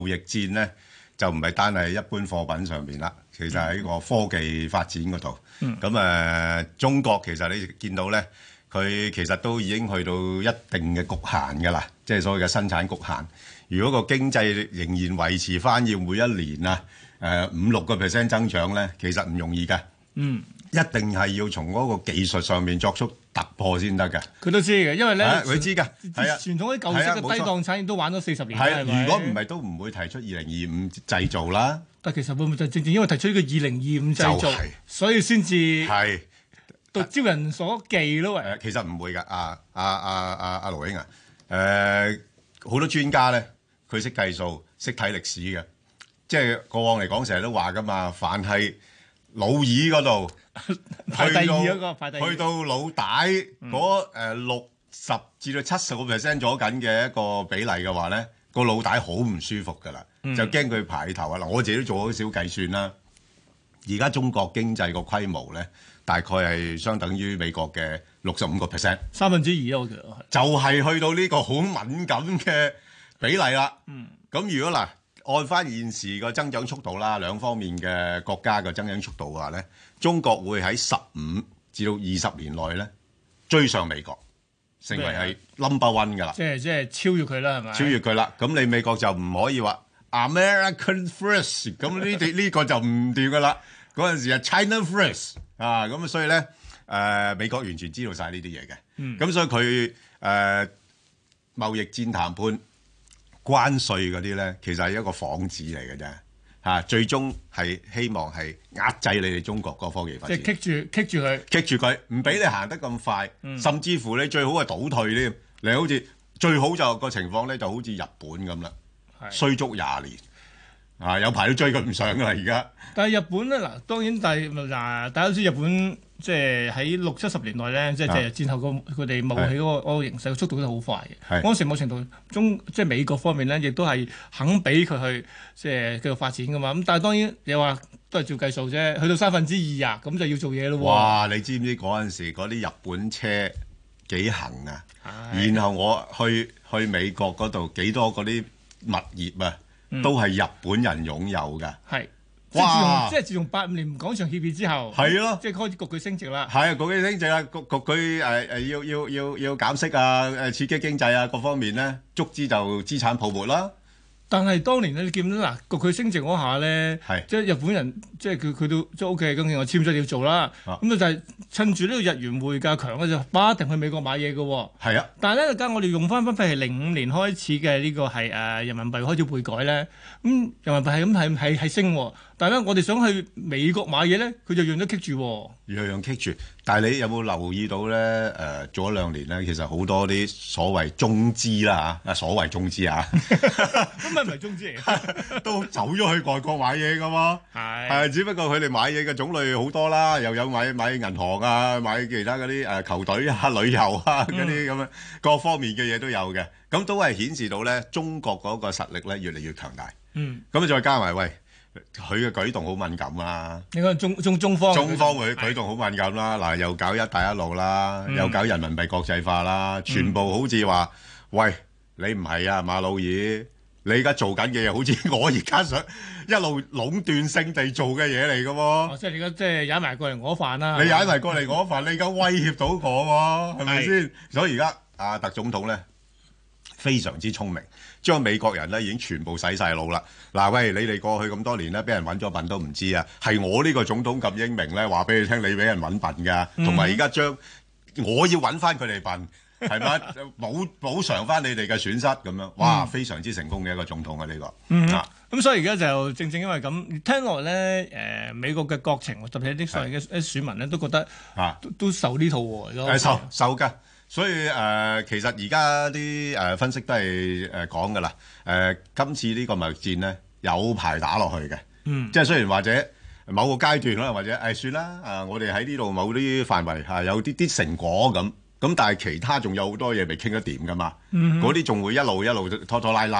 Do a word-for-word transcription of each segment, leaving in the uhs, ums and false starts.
貿易戰咧就唔係單係一般貨品上邊啦，其實喺個科技發展嗰度。咁誒、 嗯呃，中國其實你見到咧，佢其實都已經去到一定嘅局限㗎啦，即係所謂嘅生產局限。如果個經濟仍然維持翻要每一年啊誒五六個 percent 增長咧，其實唔容易嘅。 嗯， 一定係要從嗰個技術上面作出突破先得嘅。 佢都知嘅，因為咧， 佢知㗎，係啊， 傳統啲舊式嘅低檔產業都玩咗四十年， 係係咪？ 如果唔係都唔會提出二零二五製造啦。 但其實會唔會就正正因為提出呢個二零二五製造， 就係所以先至係到招人所忌咯？喂， 誒，其實唔會㗎。啊啊啊啊啊盧英啊，誒好多專家咧，佢識計數，識睇歷史嘅，即係過往嚟講，成日都話㗎嘛，凡係老二嗰度。 排第二嗰個，排第二去到老大嗰誒六十至到七十個 percent 咗緊嘅一個比例嘅話咧，個老大好唔舒服㗎啦， 嗯、 就驚佢排頭啊！嗱，我自己都做咗少計算啦。而家中國經濟個規模咧，大概係相等於美國嘅六十五個 percent， 三分之二啊！我覺得就係去到呢個好敏感嘅比例啦。 嗯， 咁如果嗱按翻現時個增長速度啦，兩方面嘅國家嘅增長速度嘅話咧，中國會喺十五至到二十年內咧追上美國，成為係 number one 㗎啦。 即係即係超越佢啦，係咪？ 超越佢啦，咁你美國就唔可以話 American first，咁呢啲呢個就唔掂㗎啦。嗰陣時係 China first 啊，咁所以咧誒、呃、美國完全知道晒呢啲嘢嘅。咁、嗯、所以佢誒、呃、貿易戰談判關稅嗰啲咧，其實係一個幌子嚟嘅啫。嚇，最終係希望係壓制你哋中國個科技發展， 即係棘住棘住佢， 棘住佢，唔俾你行得咁快， 嗯、 甚至乎你最好係倒退添。你好似最好就個情況咧，就好似日本咁啦，衰足廿年，啊有排都追佢唔上噶啦而家。 但係日本咧嗱，當然但係嗱，大家都知日本即係喺六七十年代咧，即係即係戰後個佢哋冒起嗰個嗰個形勢，速度都好快嘅。嗰陣時某程度中，即係美國方面咧，亦都係肯俾佢去即係繼續發展噶嘛。咁但係當然你話都係照計數啫，去到三分之二啊，咁就要做嘢咯喎。 哇！你知唔知嗰陣時嗰啲日本車幾行啊？然後我去去美國嗰度幾多嗰啲物業啊，嗯、都係日本人擁有㗎。係。 哇！即係自從八五年廣場協議之後， 係咯， 即係開始焗佢升值啦。 係啊，焗佢升值啦，焗焗佢誒誒要要要要減息啊，誒刺激經濟啊，各方面咧，足之就資產泡沫啦。 但係當年咧，你見到嗱，焗佢升值嗰下咧，即係日本人，即係佢佢都即係 O K，咁我簽咗要做啦。咁啊就係趁住呢個日元匯價強咧，就不一定去美國買嘢嘅喎。係啊，但係咧，而家我哋用翻翻譬如零五年開始嘅呢個係誒人民幣開始匯改咧，咁人民幣係咁係係係升，但係咧我哋想去美國買嘢咧，佢就樣樣棘住，樣樣棘住。但係你有冇留意到咧？誒，做咗兩年咧，其實好多啲所謂中資啦嚇，啊所謂中資啊，咁咪唔係中資嚟，都走咗去外國買嘢噶嘛。係係，只不過佢哋買嘢嘅種類好多啦，又有買買銀行啊，買其他嗰啲誒球隊啊、旅遊啊嗰啲咁樣各方面嘅嘢都有嘅。咁都係顯示到咧，中國嗰個實力咧越嚟越強大。嗯，咁再加埋喂。佢嘅舉動好敏感啦，你講中中中方，中方佢舉動好敏感啦，嗱又搞一帶一路啦，嗯、又搞人民幣國際化啦，全部好似話，嗯、喂你唔係啊馬老二，你而家做緊嘅嘢好似我而家想一路壟斷性地做嘅嘢嚟㗎喎，哦、即係你而家即係踩埋過嚟我飯啦，你踩埋過嚟我飯，你而家威脅到我喎，係咪先？所以而家阿特總統咧非常之聰明。將美國人咧已經全部洗晒腦啦！嗱，喂，你哋過去咁多年咧，俾人揾咗笨都唔知啊！係我呢個總統咁英明咧，話俾你聽，你俾人揾笨㗎，同埋而家將我要揾翻佢哋笨，係咪補補償翻你哋嘅損失咁樣？哇，非常之成功嘅一個總統啊！呢、呢個嗯咁、啊、所以而家就正正因為咁，聽落咧誒美國嘅國情，特別係啲所謂嘅啲選民咧，都覺得啊都，都受呢套喎，誒受受㗎。所以誒、呃，其實而家啲誒分析都係誒講㗎啦。誒、呃，今次呢個貿易戰咧有排打落去嘅，嗯，即係雖然或者某個階段可能或者誒、哎、算啦，啊、呃，我哋喺呢度某啲範圍嚇、啊、有啲啲成果咁，咁但係其他仲有好多嘢未傾得掂㗎嘛，嗰啲仲會一路一路拖拖拉拉嘅。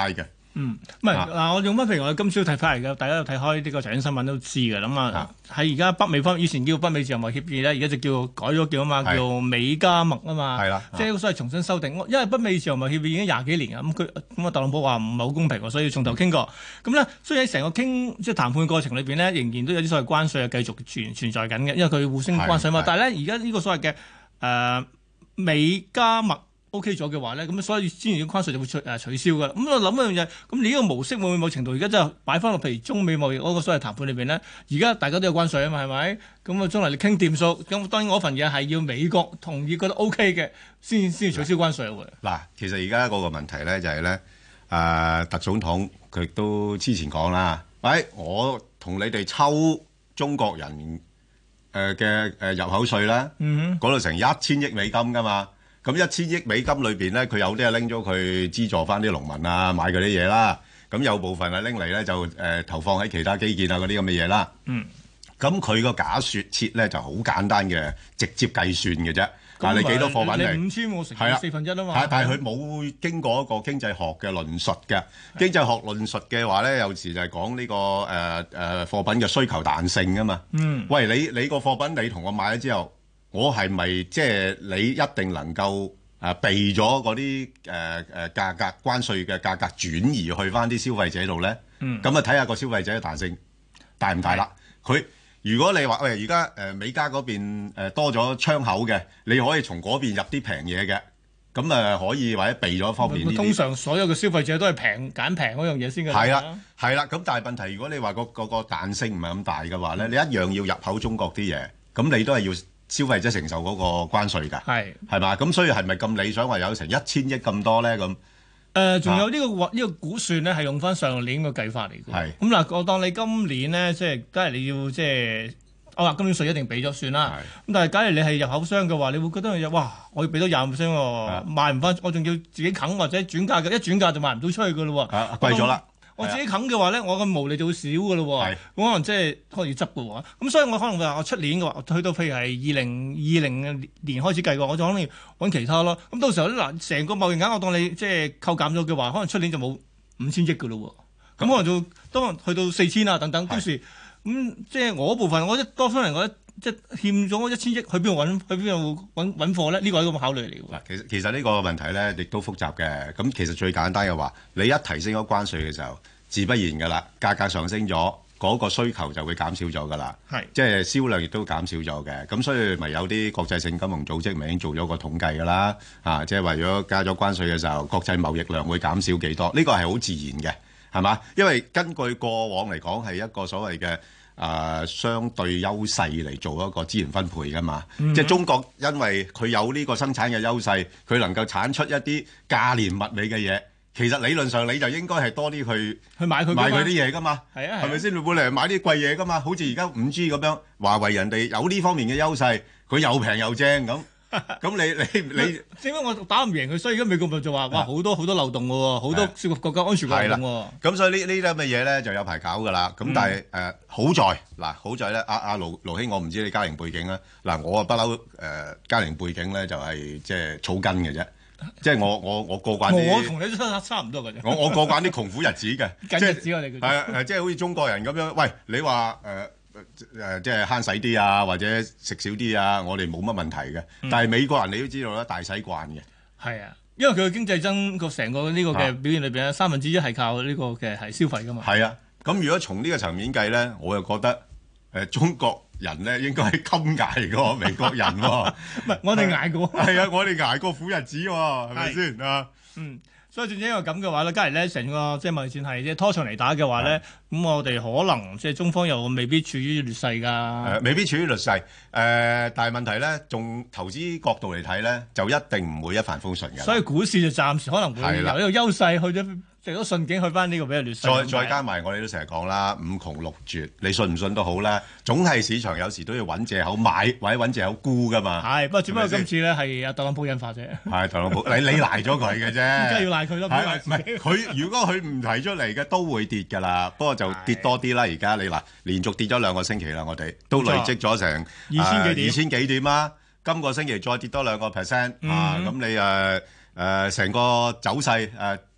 嗯，唔係嗱，我用翻譬如我今朝睇翻嚟嘅，大家有睇開呢個財經新聞都知嘅，咁啊喺而家北美方面，以前叫北美自由貿易協議咧，而家就叫改咗叫啊嘛，叫美加墨啊嘛， 係啦， 即係所謂重新修訂。因為北美自由貿易協議已經廿幾年啊，咁佢咁啊特朗普話唔係好公平喎，所以從頭傾過。咁咧，所以喺成個傾即係談判過程裏邊咧，仍然都有啲所謂關稅係繼續存存在緊嘅，因為佢互相關稅嘛。但係咧，而家呢個所謂嘅誒、呃、美加墨。O K 咗嘅話咧，咁所以之前嘅關稅就會取誒取消㗎啦。咁我諗一樣嘢，咁你呢個模式會唔會某程度而家真係擺翻落譬如中美貿易嗰個所謂談判裏邊咧？而家大家都有關稅啊嘛，係咪？咁啊將來你傾掂數，咁當然嗰份嘢係要美國同意覺得 O K 嘅，先先取消關稅喎。 嗱，其實而家嗰個問題咧就係、是、咧，誒、呃、特總統佢都之前講啦，喂、哎，我同你哋抽中國人誒嘅誒入口稅啦，嗰度成一千億美金㗎嘛。咁一千億美金裏邊咧，佢有啲係拎咗佢資助翻啲農民啊，買嗰啲嘢啦。咁有部分係拎嚟咧，就誒、呃、投放喺其他基建啊嗰啲咁嘅嘢啦。嗯。咁佢個假設設咧就好簡單嘅，直接計算嘅啫。但係你幾多貨品嚟？ 你五千我乘四分一啊嘛。 但係佢冇經過一個經濟學嘅論述嘅。經濟學論述嘅話咧，有時就係講呢、呢個誒誒、呃呃、貨品嘅需求彈性啊嘛。嗯。喂，你你個貨品你同我買咗之後。我係咪即係你一定能夠誒避咗嗰啲誒誒價格關稅嘅價格轉移去翻啲消費者度咧？嗯，咁啊睇下個消費者嘅彈性大唔大啦。佢如果你話喂而家誒美加嗰邊誒多咗窗口嘅，你可以從嗰邊入啲平嘢嘅，咁誒可以或者避咗方面呢啲。通常所有嘅消費者都係平揀平嗰樣嘢先嘅。 係啦，係啦。咁但係問題，如果你話個個個彈性唔係咁大嘅話咧，你一樣要入口中國啲嘢，咁你都係要消費者承受嗰個關稅㗎，係係嘛？咁所以係咪咁理想話有成一千億咁多咧？咁誒，仲有呢個呢個估算咧，係用翻上年個計法嚟嘅。係咁嗱，我當你今年咧，即係梗係你要即係，我話今年稅一定俾咗算啦。咁但係假如你係入口商嘅話，你會覺得哇，我要俾多廿五 percent 喎，賣唔翻，我仲要自己啃或者轉價嘅，一轉價就賣唔到出去㗎咯喎， 啊貴咗啦。 我自己啃嘅話咧，我個毛利就會少嘅咯喎，咁可能即係可能要執嘅喎。咁所以我可能話我出年嘅話，去到譬如係二零二零年開始計嘅話，我就可能揾其他咯。咁到時候咧嗱，成個貿易額我當你即係扣減咗嘅話，可能出年就冇五千億嘅咯喎。咁可能就當去到四千啊等等，到時咁即係我部分，我一多數人我即係欠咗一千億，去邊度揾？去邊度揾揾貨咧？呢個係一個考慮嚟嘅。 嗱，其實其實呢個問題咧，亦都複雜嘅。咁其實最簡單嘅話，你一提升咗關稅嘅時候，自不然㗎啦，價格上升咗，嗰個需求就會減少咗㗎啦。係，即係銷量亦都減少咗嘅。咁所以咪有啲國際性金融組織咪已經做咗個統計㗎啦。啊，即係為咗加咗關稅嘅時候，國際貿易量會減少幾多？呢個係好自然嘅，係嘛？因為根據過往嚟講係一個所謂嘅誒相對優勢嚟做一個資源分配㗎嘛。嗯、即係中國因為佢有呢個生產嘅優勢，佢能夠產出一啲價廉物美嘅嘢。其實理論上你就應該係多啲去去買佢買佢啲嘢噶嘛， 係啊， 係咪先？你本嚟買啲貴嘢噶嘛，好似而家五 G 咁樣，華為人哋有呢方面嘅優勢，佢又平又正咁，咁你你你， 點解我打唔贏佢？所以而家美國咪就話哇好多好多漏洞嘅喎，好多涉及國家安全嘅漏洞喎。 咁所以呢呢啲咁嘅嘢咧就有排搞㗎啦。咁但係誒好在嗱好在咧，阿阿盧盧兄，我唔知你家庭背景啦。嗱我啊不嬲誒家庭背景咧就係即係草根嘅啫。即係我我我過慣啲， 我同你都差差唔多嘅啫。 我我過慣啲窮苦日子嘅， 緊日子我哋叫。 係啊，即係好似中國人咁樣。喂，你話誒誒，即係慳使啲啊，或者食少啲啊，我哋冇乜問題嘅。嗯、但係美國人你都知道啦，大使慣嘅。係啊，因為佢嘅經濟增個成個呢個嘅表現裏邊咧，三分之一係靠呢個嘅係消費㗎嘛。係啊，咁如果從呢個層面計咧，我又覺得誒、呃、中國人咧應該係襟捱過美國人喎， 唔係我哋捱過， 係啊，我哋捱過苦日子喎，係咪先啊？ 嗯，所以正正因為咁嘅話咧，假如咧成個即係貿易戰係即係拖長嚟打嘅話咧，咁我哋可能即係中方又未必處於劣勢㗎。 誒，未必處於劣勢。誒，但係問題咧，從投資角度嚟睇咧，就一定唔會一帆風順嘅。 所以股市就暫時可能會由呢個優勢去咗。食咗順境去翻呢個比較劣勢， 再再加埋我哋都成日講啦，五窮六絕，你信唔信都好啦，總係市場有時都要揾藉口買或者揾藉口沽噶嘛。 係，不過只不過今次咧係阿特朗普引發啫。 係特朗普，你你賴咗佢嘅啫。 梗係要賴佢咯，唔係佢如果佢唔提出嚟嘅都會跌㗎啦，不過就跌多啲啦。而家你嗱連續跌咗兩個星期啦，我哋都累積咗成二千幾點， 二千幾點啦。今個星期再跌多兩個 percent 啊，咁你誒。誒成、呃、個走勢誒、呃、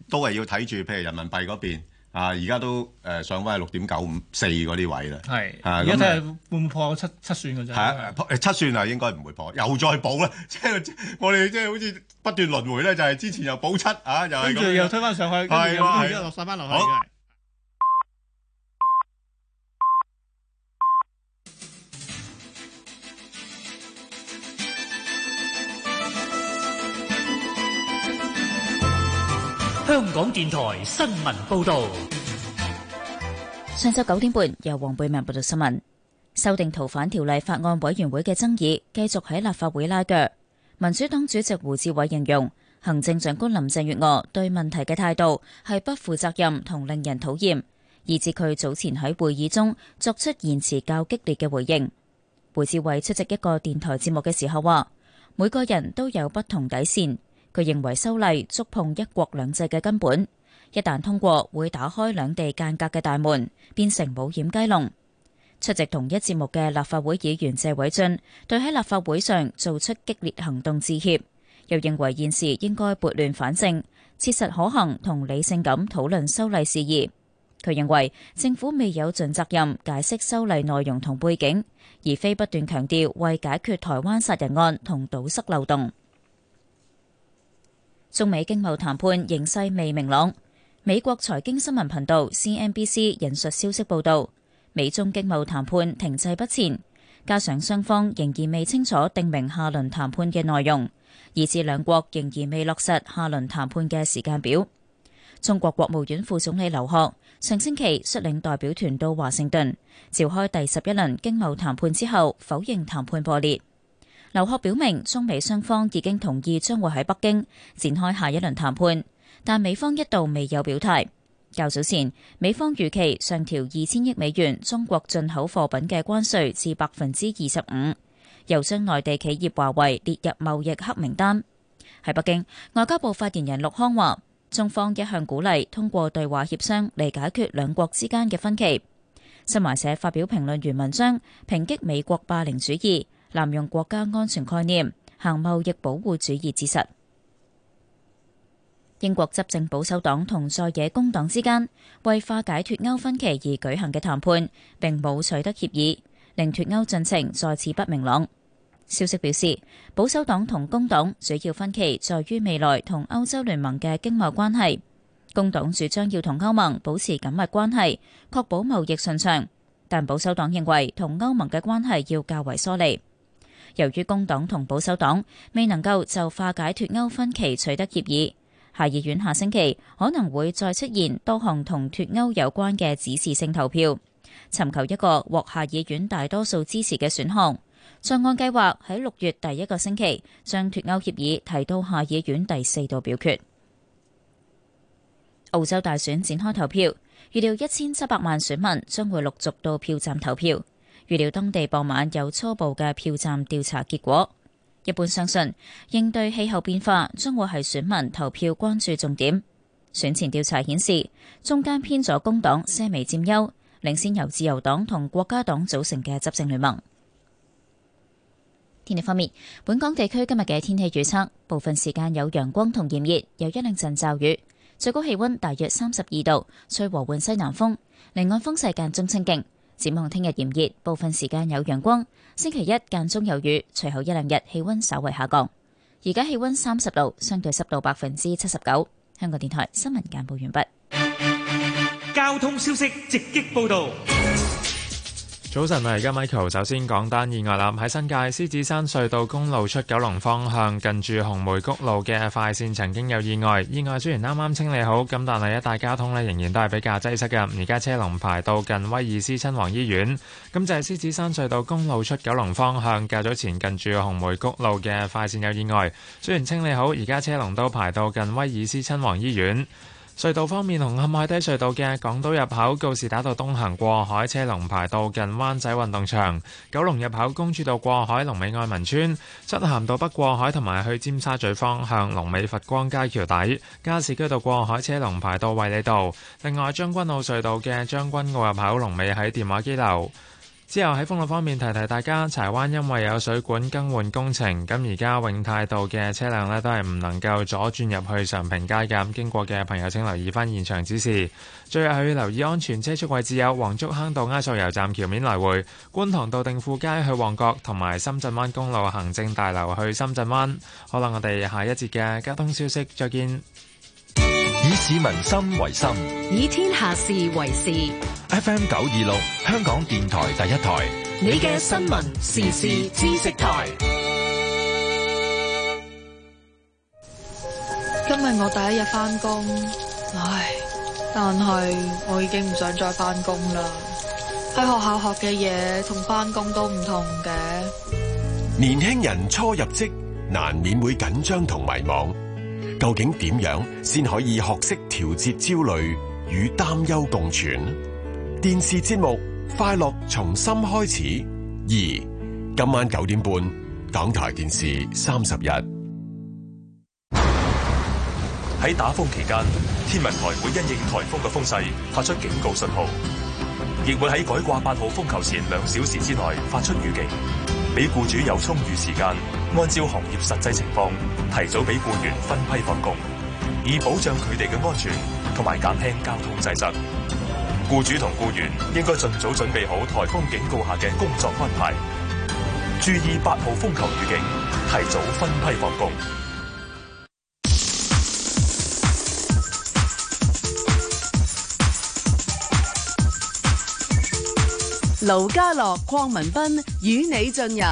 都係要睇住，譬如人民幣嗰邊啊，而家都誒、呃、上翻係六點九五四嗰啲位啦。係是，而家睇下會唔會破七七算嘅啫。係啊，誒七算啊，應該唔會破，又再補啦。即係我哋即係好似不斷輪迴咧，就係、是、之前又補七啊，又係跟住又推翻上去，跟住又而家落晒翻落去。 香港電台新聞報道， 上晝九點半由黃貝明報道新聞。修訂逃犯條例法案委員會嘅爭議繼續喺立法會拉鋸。民主黨主席胡志偉形容行政長官林鄭月娥對問題嘅態度係不負責任同令人討厭，以致佢早前喺會議中作出言辭較激烈嘅回應。胡志偉出席一個電台節目嘅時候話，每個人都有不同底線。佢認為修例觸碰一國兩制嘅根本，一旦通過會打開兩地間隔嘅大門，變成冇掩雞籠。出席同一節目嘅立法會議員謝偉俊對喺立法會上做出激烈行動致歉，又認為現時應該撥亂反正，切實可行同理性咁討論修例事宜。佢認為政府未有盡責任解釋修例內容同背景，而非不斷強調為解決台灣殺人案同堵塞漏洞。中美經貿談判形勢未明朗。美國財經新聞頻道 C N B C 引述消息報道，美中經貿談判停滯不前，加上雙方仍然未清楚定明下輪談判嘅內容，以致兩國仍然未落實下輪談判嘅時間表。中國國務院副總理劉鶴上星期率領代表團到華盛頓召開第十一輪經貿談判之後，否認談判破裂。劉鶴表明，中美雙方已經同意將會喺北京展開下一輪談判，但美方一度未有表態。較早前，美方預期上調二千億美元中國進口貨品嘅關稅至百分之二十五，又將內地企業華為列入貿易黑名單。喺北京，外交部發言人陸康話，中方一向鼓勵通過對話協商嚟解決兩國之間嘅分歧。新華社發表評論員文章，抨擊美國霸凌主義，濫用國家安全概念，行貿易保護主義之實。英國執政保守黨同在野工黨之間為化解脫歐分歧而舉行嘅談判並冇取得協議，令脫歐進程再次不明朗。消息表示，保守黨同工黨主要分歧在於未來同歐洲聯盟嘅經貿關係。工黨主張要同歐盟保持緊密關係，確保貿易順暢，但保守黨認為同歐盟嘅關係要較為疏離。由於工黨同保守黨未能夠就化解脫歐分歧取得協議，下議院下星期可能會再出現多項同脫歐有關嘅指示性投票，尋求一個獲下議院大多數支持嘅選項。再按計劃喺六月第一個星期將脫歐協議提到下議院第四度表決。澳洲大選展開投票，預料一千七百萬選民將會陸續到票站投票。預料當地傍晚有初步嘅票站調查結果。一般相信應對氣候變化將會係選民投票關注重點。選前調查顯示，中間偏左工黨些微佔優，領先由自由黨同國家黨組成嘅執政聯盟。天氣方面，本港地區今日嘅天氣預測，部分時間有陽光同炎熱，有一兩陣驟雨，最高氣溫大約三十二度，吹和緩西南風，離岸風勢間中清勁。展望聽日炎熱，部分時間有陽光。星期一間中有雨，隨後一兩日氣溫稍為下降。而家氣溫三十度，相對濕度百分之七十九。香港電台新聞簡報完畢。 交通消息直擊報道。 早晨啊，而家 Michael 首先講單意外啦，喺新界獅子山隧道公路出九龍方向，近住紅梅谷路嘅快線曾經有意外。意外雖然啱啱清理好，咁但係一帶交通呢仍然都係比較擠塞嘅。而家車龍排到近威爾斯親王醫院。咁就係獅子山隧道公路出九龍方向，較早前近住紅梅谷路嘅快線有意外，雖然清理好，而家車龍都排到近威爾斯親王醫院。隧道方面，紅磡海底隧道嘅港島入口告士打道東行過海車龍排到近灣仔運動場，九龍入口公主道過海龍尾愛民村，漆咸道北過海同埋去尖沙咀方向龍尾佛光街橋底，加士居道過海車龍排到衛理道。另外將軍澳隧道嘅將軍澳入口龍尾喺電話機樓。 之後喺封路方面提提大家，柴灣因為有水管更換工程，咁而家永泰道嘅車輛呢都係唔能夠左轉入去常平街嘅，經過嘅朋友請留意翻現場指示。最後係要留意安全車速位置有黃竹坑道埃索油站橋面來回、觀塘道定富街去旺角，同埋深圳灣公路行政大樓去深圳灣。好啦，我哋下一節嘅交通消息再見。 以市民心為心， 以天下事為事。 F M 九二六，香港電台第一台， 你嘅新聞時事知識台。 今日我第一日返工，唉，但係我已經唔想再返工啦。喺學校學嘅嘢同返工都唔同嘅。 年輕人初入職，難免會緊張同迷茫。究竟點樣先可以學識調節焦慮與擔憂共存？電視節目《快樂從心開始》二，今晚九點半，港台電視三十一。 喺打風期間，天文台會因應颱風嘅風勢發出警告信號，亦會喺改掛八號風球前兩小時之內發出預警，俾僱主有充裕時間按照行業實際情況提早俾僱員分批放工，以保障佢哋嘅安全同埋減輕交通擠塞。僱主同僱員應該盡早準備好颱風警告下嘅工作安排，注意八號風球預警，提早分批放工。 盧家樂、鄺民彬與你進入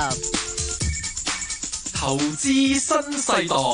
投資新世代。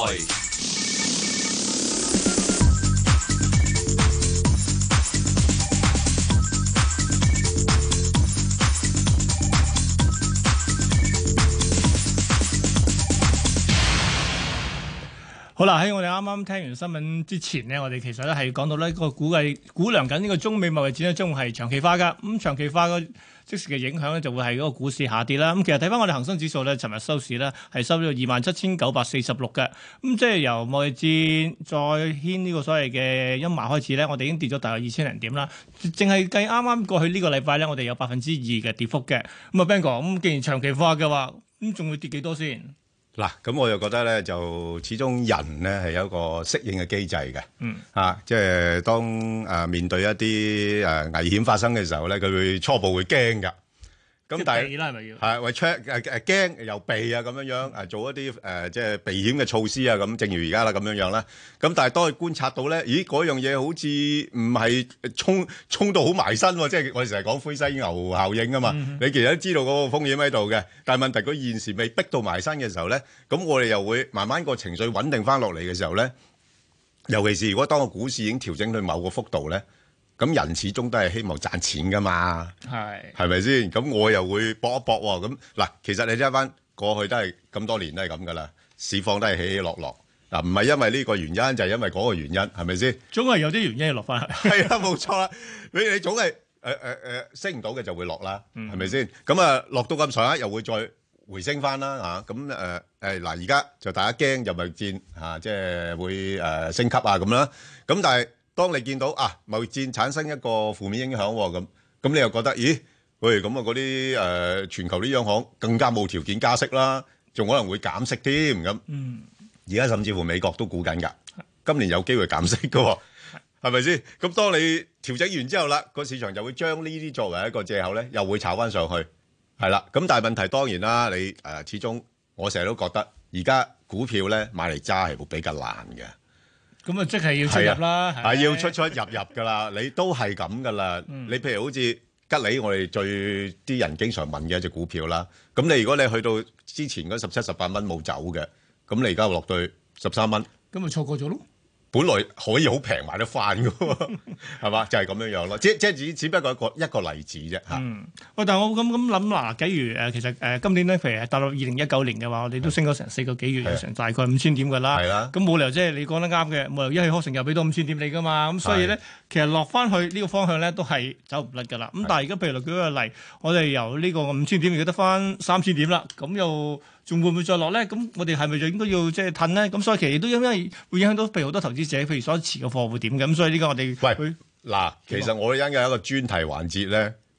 好啦，喺我哋啱啱聽完新聞之前呢，我哋其實咧係講到呢個估計估量緊呢個中美貿易戰咧將會係長期化㗎。咁、嗯、長期化個即時嘅影響咧就會係嗰個股市下跌啦。咁、嗯、其實睇翻我哋恒生指數咧，尋日收市咧係收咗二萬七千九百四十六嘅。咁、嗯、即係由貿易戰再掀呢個所謂嘅陰霾開始咧，我哋已經跌咗大約二千零點啦。淨係計啱啱過去呢個禮拜咧，我哋有百分之二嘅跌幅嘅。咁、嗯、啊 Ben 哥，咁既然長期化嘅話，咁仲會跌幾多先？ 嗱，咁我又覺得咧，就始終人咧係有一個適應嘅機制嘅，嗯，啊，即係當誒面對一啲誒危險發生嘅時候咧，佢會初步會驚㗎。咁但係係咪要係為 check 誒誒驚又避啊咁樣樣誒做一啲誒即係避險嘅措施啊咁，正如而家啦咁樣樣啦。咁但係當佢觀察到咧，咦嗰樣嘢好似唔係衝衝到好埋身喎，即係我哋成日講灰犀牛效應啊嘛。嗯、你其實都知道嗰個風險喺度嘅，但係問題佢現時未逼到埋身嘅時候咧，咁我哋又會慢慢個情緒穩定翻落嚟嘅時候咧，尤其是如果當個股市已經調整到某個幅度咧。咁人始終都係希望賺錢噶嘛，係係咪先？咁我又會搏一搏喎。咁嗱，其實你睇翻過去都係咁多年都係咁噶啦，市況都係起起落落。嗱，唔係因為呢個原因，就係因為嗰個原因，係咪先？總係有啲原因要落翻去。係啊，冇錯啦。你你總係誒誒誒升唔到嘅就會落啦，係咪先？咁啊落到咁上下又會再回升翻啦嚇。咁誒誒嗱，而家就大家驚就貿易戰嚇，即係會誒升級啊咁啦。咁但係當你見到啊貿易戰產生一個負面影響喎，咁咁你又覺得，咦？喂，咁啊嗰啲誒全球啲央行更加冇條件加息啦，仲可能會減息添咁。嗯，而家甚至乎美國都估緊㗎，今年有機會減息㗎喎，係咪先？咁當你調整完之後啦，個市場就會將呢啲作為一個藉口咧，又會炒翻上去，係啦。咁但係問題當然啦，你誒始終我成日都覺得而家股票咧買嚟揸係會比較難嘅。咁啊，即係要出入啦，係要出出入入噶啦，你都係咁噶啦。你譬如好似吉利，我哋最啲人經常問嘅一隻股票啦。咁你如果你去到之前嗰十七、十八蚊冇走嘅，咁你而家落到十三蚊，咁咪錯過咗咯。本來可以好平買得翻嘅喎，係嘛？就係、是、咁樣樣咯。即即係只只不過一個一個例子啫嚇。嗯。喂，但係我咁咁諗嗱，假如誒、呃、其實誒、呃、今年咧，譬如係踏入二零一九年嘅話，我哋都升咗成四個幾月，有成大概五千點㗎啦。係啦。咁冇理由即係你講得啱嘅，冇理由一氣呵成又俾到五千點你㗎嘛。咁所以咧，其實落翻去呢個方向咧，都係走唔甩㗎啦。咁但係而家譬如舉個例，我哋由呢個五千點而家得翻三千點啦，咁又仲會唔會再落咧？咁我哋係咪就應該要即係褪咧？咁所以其實都因為會影響到譬如好多投資者，譬如所持嘅貨會點嘅。咁所以呢個我哋喂嗱，其實我哋因有一個專題環節咧，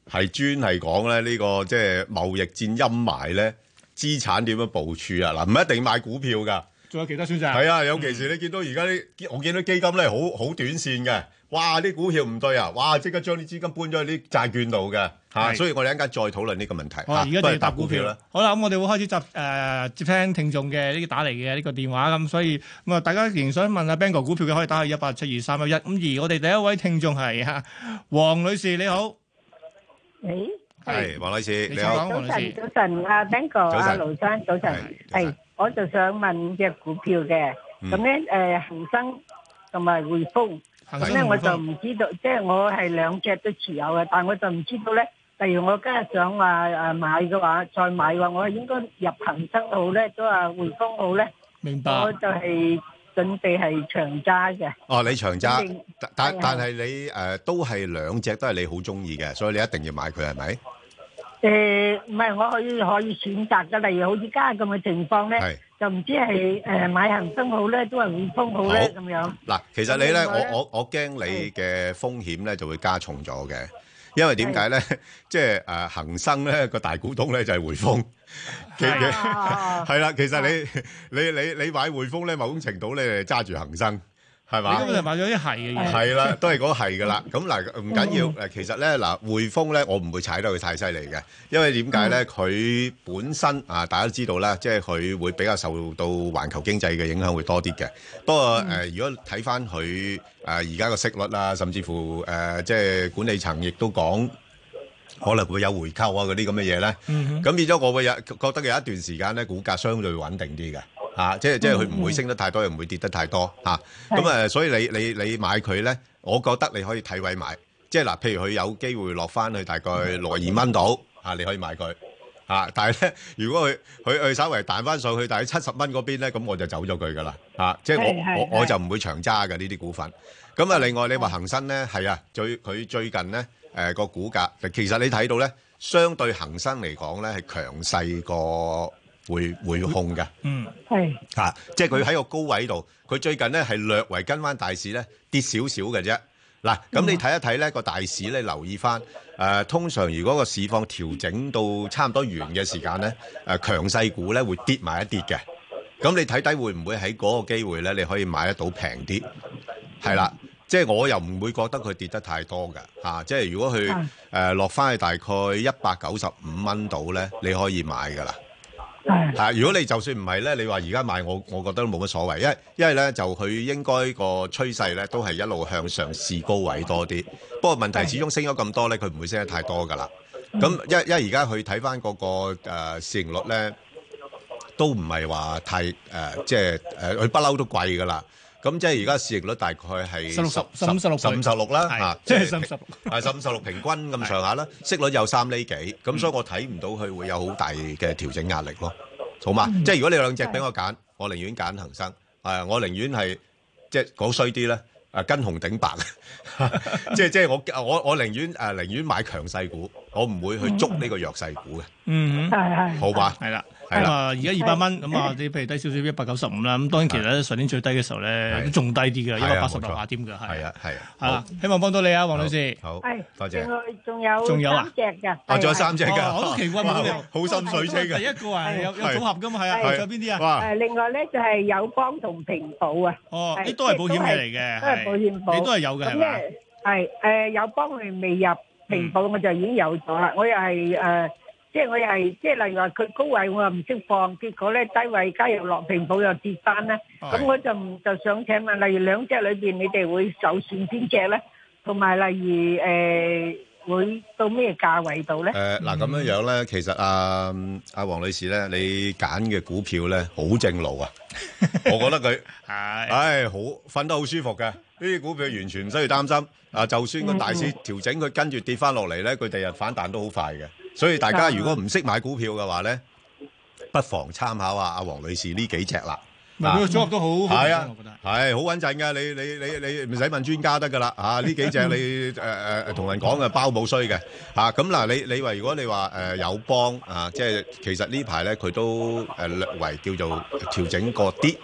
係專係講咧呢個即係貿易戰陰霾咧，資產點樣部署啊？嗱，唔一定買股票㗎， 仲有其他選擇。 係啊，尤其是你見到而家啲，我見到基金咧好好短線嘅，哇！啲股票唔對啊，哇！即刻將啲資金搬咗去啲債券度嘅嚇，所以我哋一陣間再討論呢個問題。 好啦，而家就要答股票啦。 好啦，咁我哋會開始接誒接聽聽眾嘅呢個打嚟嘅呢個電話咁，所以咁啊，大家仍然想問阿 Ben 哥股票嘅可以打去一八七二三一一。咁而我哋第一位聽眾係嚇黃女士，你好。 誒， 係黃女士，你好。 早晨，早晨，阿 Ben 哥，阿盧生，早晨。係，我就想問隻股票嘅，咁咧誒恒生同埋匯豐，咁咧我就唔知道，即係我係兩隻都持有嘅，但係我就唔知道咧。例如我今日想話誒買嘅話，再買嘅話，我係應該入恒生好咧，都話匯豐好咧。 明白。 我就係準備係長揸嘅。 哦，你長揸，但但係你誒都係兩隻都係你好中意嘅，所以你一定要買佢係咪？ 誒唔係，我可以可以選擇嘅。例如好似家咁嘅情況咧，就唔知係誒買恒生好咧，都係匯豐好咧咁樣。嗱， 其實你咧，我我我驚你嘅風險咧就會加重咗嘅。因為點解咧？即係誒恒生咧個大股東咧就係匯豐，嘅係啦。其實你你你你買匯豐咧，某種程度咧揸住恒生係嘛？ 你根本就買咗啲係嘅嘢。 係啦，都係嗰係噶啦。咁嗱唔緊要誒，其實咧嗱匯豐咧，我唔會踩得佢太犀利嘅，因為點解咧？佢本身啊，大家都知道啦，即係佢會比較受到環球經濟嘅影響會多啲嘅。不過誒，如果睇翻佢。誒而家個息率啊，甚至乎誒、呃、即係管理層亦都講可能會有回購啊嗰啲咁嘅嘢咧。咁、嗯、變咗我會有覺得有一段時間咧，股價相對穩定啲嘅嚇，即係即係佢唔會升得太多，又唔會跌得太多嚇。咁誒、啊，所以你你你買佢咧，我覺得你可以睇位買，即係嗱，譬如佢有機會落翻去大概六十二蚊度嚇，你可以買佢。啊！但係咧，如果佢佢佢稍微彈翻上去，大概七十蚊嗰邊咧，咁我就走咗佢噶啦。啊，即係我我我就唔會長揸嘅呢啲股份。咁啊，另外你話恒生咧，係啊，最佢最近咧誒個股價，其實你睇到咧，相對恒生嚟講咧係強勢過匯匯控嘅。嗯，係啊，即係佢喺個高位度，佢最近咧係略為跟翻大市咧跌少少嘅啫。嗱，咁你睇一睇咧個大市咧，留意翻誒，通常如果個市況調整到差唔多完嘅時間咧，誒強勢股咧會跌埋一跌嘅。咁你睇睇會唔會喺嗰個機會咧，你可以買得到平啲？係啦，即係我又唔會覺得佢跌得太多嘅嚇。即係如果佢誒落翻去大概一百九十五蚊度咧，你可以買噶啦。係，如果你就算唔係咧，你話而家買我，我覺得都冇乜所謂，因為因為咧就佢應該個趨勢咧都係一路向上試高位多啲。不過問題始終升咗咁多咧，佢唔會升得太多噶啦。咁因為因為而家佢睇翻嗰個誒市盈率咧，都唔係話太誒，即係誒佢不嬲都貴噶啦。咁即係而家市盈率大概係十六十十五十六十五十六啦嚇， 即係十五十六係十五十六平均咁上下啦，息率有三厘幾，咁所以我睇唔到佢會有好大嘅調整壓力咯，好嘛？即係如果你有兩隻俾我揀，我寧願揀恒生，係我寧願係即係講衰啲咧，誒跟紅頂白，即係即係我我我寧願誒寧願買強勢股，我唔會去捉呢個弱勢股嘅， 嗯，係係， 好嘛？ 係啦。咁啊，而家二百蚊，咁啊，你譬如低少少一百九十五啦。咁當然其實上年最低嘅時候咧，都仲低啲嘅，一百八十樓下添嘅，係啊，係啊，係啦。希望幫到你啊，黃女士。 好， 係， 多謝。 另外仲有仲有啊三隻㗎。 哦，仲有三隻㗎。 我都奇怪冇好心水清嘅。 第一個係有有組合㗎嘛，係啊。仲有邊啲啊？ 誒，另外咧就係友邦同平保啊。 哦，呢都係保險嘢嚟嘅， 都係保險保。 你都係有嘅係嘛？ 係誒，友邦佢未入，平保我就已經有咗啦。我又係誒。即係我又係，即係例如話佢高位我又唔識放，結果咧低位加入落平保又跌翻咧，咁我就唔就想請問，例如兩隻裏邊你哋會首選邊隻咧？同埋例如誒會到咩價位度咧？ 誒嗱咁樣樣咧，其實阿阿黃女士咧，你揀嘅股票咧好正路啊！我覺得佢係，唉好瞓得好舒服嘅，呢啲股票完全唔需要擔心。啊，就算個大市調整，佢跟住跌翻落嚟咧，佢第日反彈都好快嘅。所以大家如果唔識買股票嘅話咧，不妨參考下阿黃女士呢幾隻啦。 佢個組合都好， 係啊，係好穩陣㗎。你你你你唔使問專家得㗎啦。啊，呢幾隻你誒誒同人講嘅包冇衰嘅。嚇咁嗱，你你話如果你話誒友邦啊，即係其實呢排咧佢都誒略為叫做調整過啲。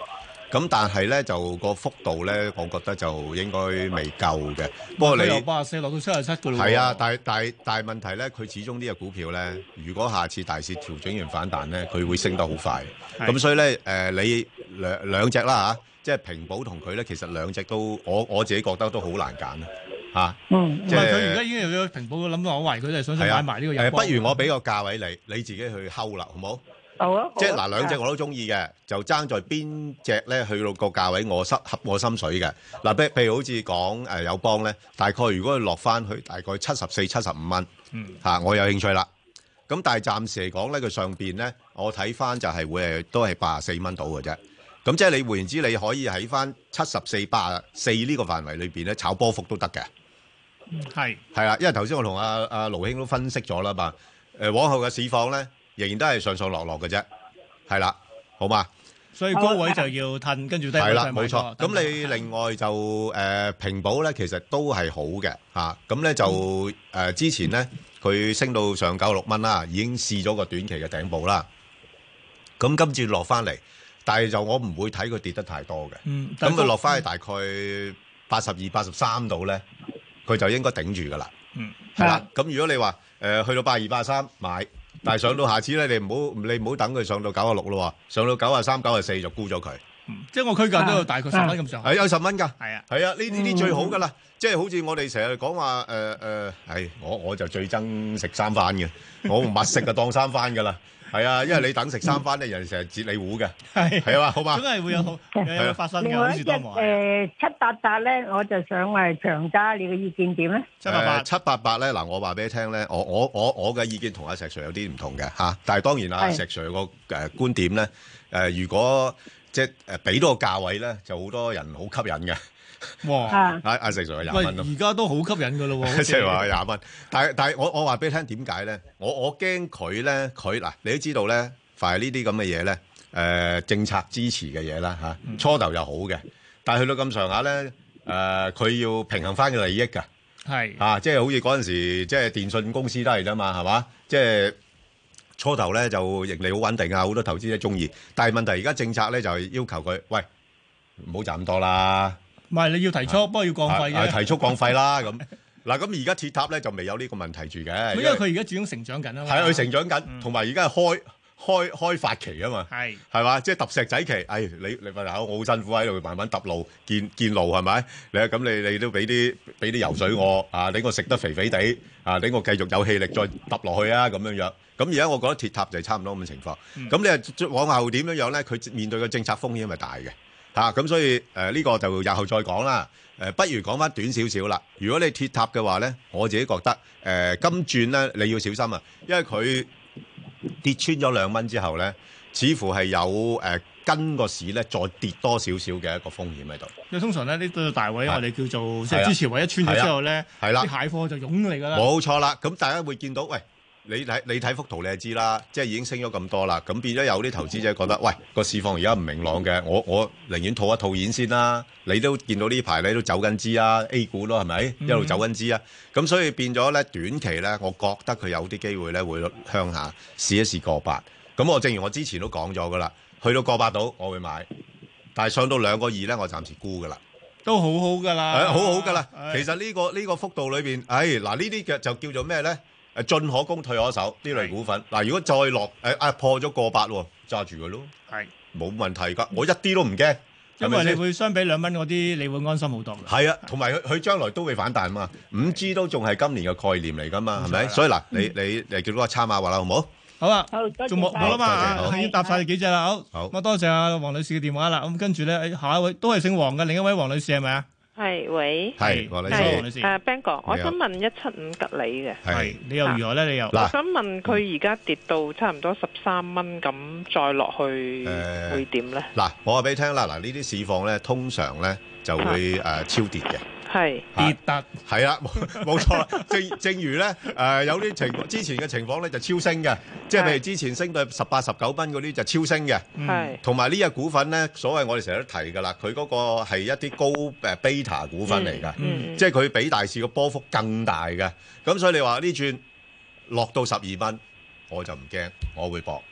咁但係咧就個幅度咧，我覺得就應該未夠嘅。不過你由八十四落到七十七嘅咯。 係啊，但係但係但係問題咧，佢始終呢個股票咧，如果下次大市調整完反彈咧，佢會升得好快。咁所以咧，誒、呃、你兩兩隻啦嚇，即係平保同佢咧，其實兩隻都我我自己覺得都好難揀啊嚇。 嗯，即係佢而家已經有咗平保嘅諗法，我懷疑佢哋想買埋呢個友邦。 誒，不如我俾個價位你，你自己去睺啦，好冇？ 好啊， 即係嗱，兩隻我都中意嘅，就爭在邊隻咧去到個價位我心合我心水嘅。嗱，譬譬如好似講誒友邦咧，大概如果佢落翻去大概七十四、七十五蚊， 嗯嚇，我有興趣啦。咁但係暫時嚟講咧，佢上邊咧，我睇翻就係會係都係八十四蚊到嘅啫。咁即係你換言之，你可以喺翻七十四、八十四呢個範圍裏邊咧炒波幅都得嘅。 係係啦，因為頭先我同阿阿盧兄都分析咗啦嘛。誒，往後嘅市況咧，仍然都係上上落落嘅啫。係啦，好嘛？ 所以高位就要褪，跟住低位係啦， 再買冇錯。咁你另外就誒平保咧，其實都係好嘅嚇。咁咧就誒之前咧，佢升到上九十六蚊啦，已經試咗個短期嘅頂部啦。咁今次落翻嚟，但係就我唔會睇佢跌得太多嘅。 嗯， 咁佢落翻去大概八十二、八十三度咧，佢就應該頂住噶啦。 嗯， 係啦。咁如果你話誒去到八十二、八十三買。但係上到下次咧，你唔好你唔好等佢上到九啊六咯喎，上到九啊三、九啊四就沽咗佢。 嗯，即係我區間都有大概十蚊咁上下。 係有十蚊㗎。 係啊， 係啊，呢呢啲最好㗎啦。即係好似我哋成日講話誒誒，係我我就最憎食三番嘅，我唔密食就當三番㗎啦。係啊，因為你等食三番咧，人哋成日截你糊嘅。係係啊嘛，好嘛。 總係會有好有發生嘅。 另外一隻誒七八八咧，我就想係長揸，你嘅意見點咧？ 七八八七八八咧，嗱我話俾你聽咧，我我我我嘅意見同阿石 Sir 有啲唔同嘅嚇，但係當然阿石 Sir 個誒觀點咧誒，如果即係誒俾到個價位咧，就好多人好吸引嘅。哇！阿阿石 Sir 廿蚊咯， 而家都好吸引㗎咯喎， 即係話廿蚊。但係但係我我話俾你聽點解咧？我我驚佢咧，佢嗱你都知道咧，凡係呢啲咁嘅嘢咧，誒政策支持嘅嘢啦嚇，初頭又好嘅，但係去到咁上下咧，誒佢要平衡翻個利益㗎。 係啊，即係好似嗰陣時，即係電信公司都係啫嘛，係嘛？即係初頭咧就盈利好穩定啊，好多投資者中意。但係問題而家政策咧就係要求佢，喂唔好賺咁多啦。 唔係你要提速，不過要降費嘅。 提速降費啦咁。嗱咁而家鐵塔咧就未有呢個問題住嘅。 因為佢而家始終成長緊啊嘛。 係佢成長緊，同埋而家係開開開發期啊嘛。係係嘛，即係揼石仔期。哎，你你份口我好辛苦喺度慢慢揼路建建路係咪？你咁你你都俾啲俾啲油水我啊，等我食得肥肥地啊，等我繼續有氣力再揼落去啊咁樣樣。咁而家我覺得鐵塔就係差唔多咁嘅情況。咁、嗯、你係往後點樣樣咧？佢面對嘅政策風險係大嘅。嚇咁、啊、所以誒呢、呃這個就日後再講啦。誒、呃、不如講翻短少少啦。如果你鐵塔嘅話咧，我自己覺得誒、呃、金轉咧你要小心啊，因為佢跌穿咗兩蚊之後咧，似乎係有誒、呃、跟個市咧再跌多少少嘅一個風險喺度。 因為通常咧呢個大位我哋叫做即係支持位一穿咗之後咧， 係啦， 啲蟹貨就湧嚟㗎啦。 冇錯啦，咁大家會見到喂。你睇你睇幅圖你就知啦，即係已經升咗咁多啦，咁變咗有啲投資者覺得，喂個市況而家唔明朗嘅，我我寧願套一套現先啦。你都見到呢排你都走緊資啊 ，A 股咯係咪一路走緊資啊？咁所以變咗咧短期咧，我覺得佢有啲機會咧會向下試一試過八。咁我正如我之前都講咗噶啦，去到過八度我會買，但係上到兩個二咧，我暫時沽噶啦。 都好好㗎啦， 係好好㗎啦。其實呢個呢個幅度裏邊，唉嗱呢啲嘅就叫做咩咧？誒進可攻退可守呢類股份，嗱如果再落誒啊破咗過百喎，揸住佢咯，係冇問題㗎，我一啲都唔驚， 因為你會相比兩蚊嗰啲，你會安心好多㗎。 係啊，同埋佢佢將來都會反彈嘛，五 G 都仲係今年嘅概念嚟㗎嘛，係咪？所以嗱，你你誒叫嗰個參考話啦，好唔好？ 好啊， 好， 仲冇冇啦嘛，已經答曬你幾隻啦，好， 好， 咁多謝阿黃女士嘅電話啦，咁跟住咧下一位都係姓黃嘅，另一位黃女士係咪啊？ 係，喂， 係黃女士， 黃女士， 誒 Ben 哥，我想問一七五吉利嘅， 係你又如何咧？你又， 我想問佢而家跌到差唔多十三蚊，咁再落去會點咧？ 嗱，我話俾你聽啦，嗱呢啲市況咧，通常咧就會誒超跌嘅。 係跌得係啦，冇冇錯啦。正正如咧，誒、呃、有啲情之前嘅情況咧就超升嘅，即係譬如之前升到十八十九蚊嗰啲就超升嘅。 係同埋呢隻股份咧，所謂我哋成日都提㗎啦，佢嗰個係一啲高誒 beta 股份嚟㗎， 嗯嗯、 即係佢比大市個波幅更大嘅。咁所以你話呢轉落到十二蚊，我就唔驚，我會搏。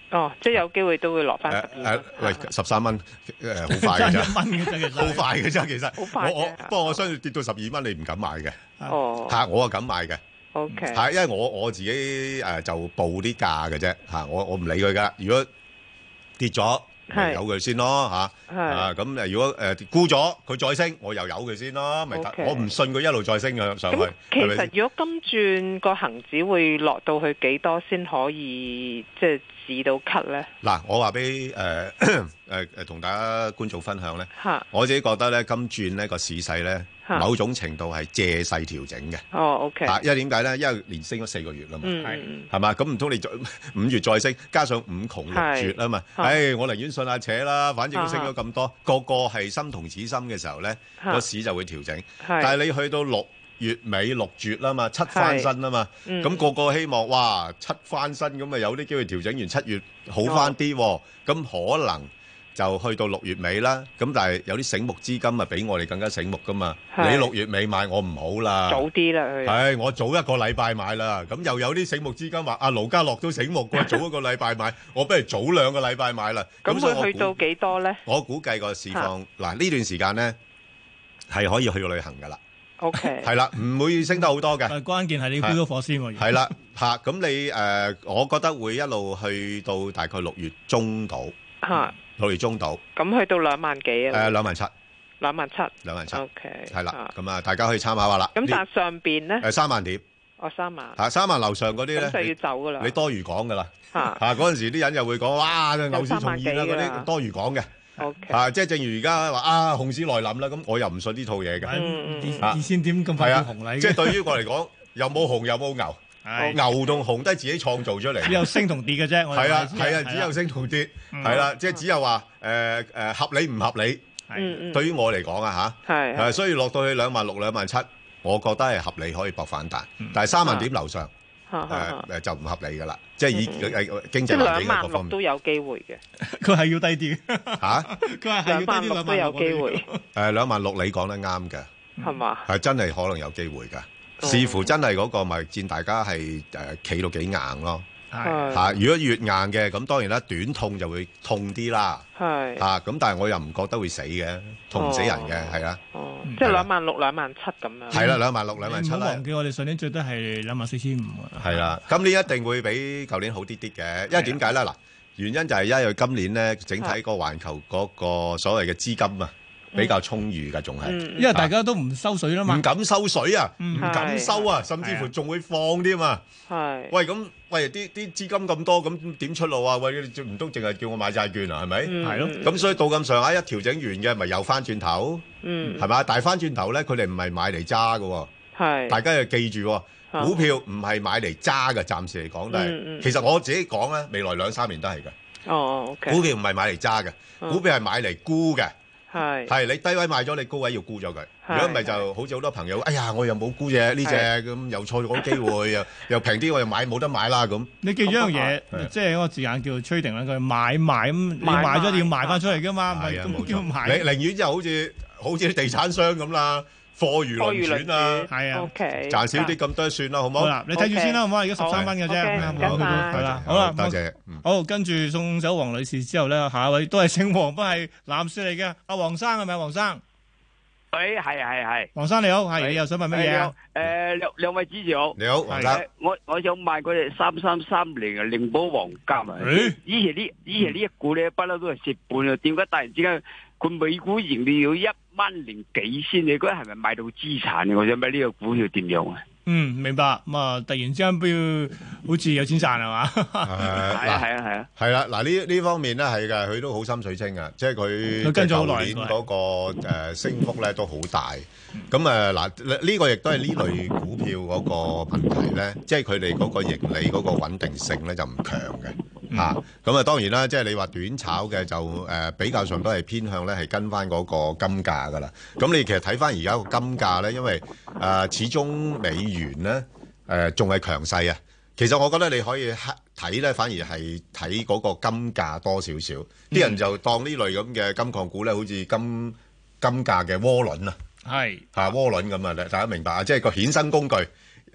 哦，即係有機會都會落翻十二蚊。 誒喂，十三蚊誒好快嘅啫， 蚊嘅啫，其實好快嘅啫，其實。 好快我我不過我相信跌到十二蚊你唔敢買嘅。 哦。 嚇，我啊敢買嘅。 O K。 係，因為我我自己誒就報啲價嘅啫嚇，我我唔理佢噶。如果跌咗，咪由佢先咯嚇。係。啊咁誒，如果誒沽咗佢再升，我又由佢先咯，咪得。我唔信佢一路再升嘅上去。 咁其實如果今轉個恆指會落到去幾多先可以即係止到咳咧？ 嗱，我話俾誒誒誒同大家觀眾分享咧， 嚇， 我自己覺得咧，今轉呢個市勢咧，某種程度係借勢調整嘅。 哦，OK。 啊，因為點解咧？因為連升咗四個月啦嘛， 係係嘛？咁唔通你再五月再升，加上五窮六絕啊嘛？誒，我寧願信下扯啦，反正都升咗咁多，個個係心同此心嘅時候咧，個市就會調整。但係你去到六月尾六絕啦嘛，七翻身啊嘛，咁個個希望哇七翻身咁啊，有啲機會調整完七月好翻啲，咁可能就去到六月尾啦。咁但係有啲醒目資金啊，比我哋更加醒目噶嘛。你六月尾買我唔好啦， 早啲啦佢。 係我早一個禮拜買啦。咁又有啲醒目資金話阿盧家樂都醒目喎，早一個禮拜買，我不如早兩個禮拜買啦。 咁會去到幾多咧？ 我估計個市況嗱呢段時間咧係可以去旅行噶啦。 O K， 係啦，唔會升得好多嘅。 關鍵係你要飆咗火先喎。 係啦，嚇咁你誒，我覺得會一路去到大概六月中度。 嚇， 六月中度。 咁去到兩萬幾啊？ 誒，兩萬七。 兩萬七。 兩萬七。 O K。 係啦，咁啊，大家可以參考下啦。 咁但係上邊咧？ 誒，三萬點。 哦，三萬。 嚇，三萬樓上嗰啲咧， 咁就要走噶啦。 你多餘講噶啦。 嚇。 嚇，嗰陣時啲人又會講，哇，牛市重現啦，嗰啲多餘講嘅。 Okay. 啊，即係正如而家話啊，熊市來臨啦，咁我又唔信呢套嘢嘅。 嗯、二千點咁快紅嚟嘅， 即係對於我嚟講，又冇熊又冇牛，牛同熊都係自己創造出嚟。 只有升同跌嘅啫。 係啊係啊，只有升同跌，係啦，即係只有話誒誒合理唔合理。 嗯對於我嚟講啊嚇，係，所以落到去兩萬六兩萬七，我覺得係合理可以搏反彈，但係三萬點樓上。誒誒就唔合理㗎啦，即係以誒經濟環境各方面都有機會嘅。 佢係要低啲嚇， 佢係係要低啲兩萬六都有機會。 誒兩萬六你講得啱嘅， 係嘛？ 係真係可能有機會㗎，視乎真係嗰個貿易戰大家係誒企到幾硬咯。係嚇，如果越硬嘅咁當然啦，短痛就會痛啲啦。係嚇，咁但係我又唔覺得會死嘅，痛唔死人嘅，係啦。 哦，即係兩萬六、兩萬七咁樣。 係啦，兩萬六、兩萬七啦。 唔好忘記我哋上年最低係兩萬四千五啊。 係啦，今年一定會比舊年好啲啲嘅，因為點解咧？嗱，原因就係因為今年咧整體個環球嗰個所謂嘅資金啊。比較充裕㗎，仲係， 因為大家都唔收水啦嘛， 唔敢收水啊，唔敢收啊，甚至乎仲會放啲啊嘛。係，喂咁，喂啲啲資金咁多，咁點出路啊？喂，唔通淨係叫我買債券啊？係咪？係咯。咁所以到咁上下一調整完嘅，咪又翻轉頭，嗯，係嘛？但係翻轉頭咧，佢哋唔係買嚟揸㗎，係，大家要記住，股票唔係買嚟揸嘅，暫時嚟講都係。其實我自己講咧，未來兩三年都係嘅。哦，OK。股票唔係買嚟揸嘅，股票係買嚟沽嘅。係係你低位買咗，你高位要沽咗佢。如果唔係就好似好多朋友，哎呀，我又冇沽隻呢隻咁，又錯咗機會，又又平啲，我又買冇得買啦咁。 你記住一樣嘢，即係一個字眼叫做 trading 啦，佢買賣咁，你買咗你要賣翻出嚟噶嘛，唔係咁叫買。 你寧願就好似好似啲地產商咁啦。貨如輪轉啊， 係啊， 賺少啲咁多算啦，好唔好？ 好啦，你睇住先啦，好唔好？而家十三蚊嘅啫，係啦，好啦， 多謝。 好，跟住送走黃女士之後咧，下一位都係姓黃，不過係男士嚟嘅，阿黃生係咪？黃生， 誒，係係係。 黃生你好，係你又想問乜嘢啊？ 誒，兩兩位主持好。 你好，黃生。 我我想買嗰隻三三三零嘅靈寶黃金啊。以前呢以前呢一股咧不嬲都係蝕本啊，點解突然之間佢每股盈利要一蚊零幾先？你覺得係咪買到資產嘅？我想問呢個股票點樣啊？ 嗯，明白。咁啊，突然之間都要好似有錢賺係嘛？ 係啊係啊係啊。 係啦，嗱呢呢方面咧係㗎，佢都好心水清㗎，即係佢跟咗好耐舊年嗰個誒升幅咧都好大。咁誒嗱呢個亦都係呢類股票嗰個問題咧，即係佢哋嗰個盈利嗰個穩定性咧就唔強嘅。嚇，咁啊當然啦，即係你話短炒嘅就誒比較上都係偏向咧係跟翻嗰個金價噶啦。咁你其實睇翻而家個金價咧，因為誒始終美元咧誒仲係強勢啊。其實我覺得你可以睇咧，反而係睇嗰個金價多少少。啲人就當呢類咁嘅金礦股咧，好似金金價嘅窩輪啊，係嚇窩輪咁啊！大家明白啊？即係個衍生工具。誒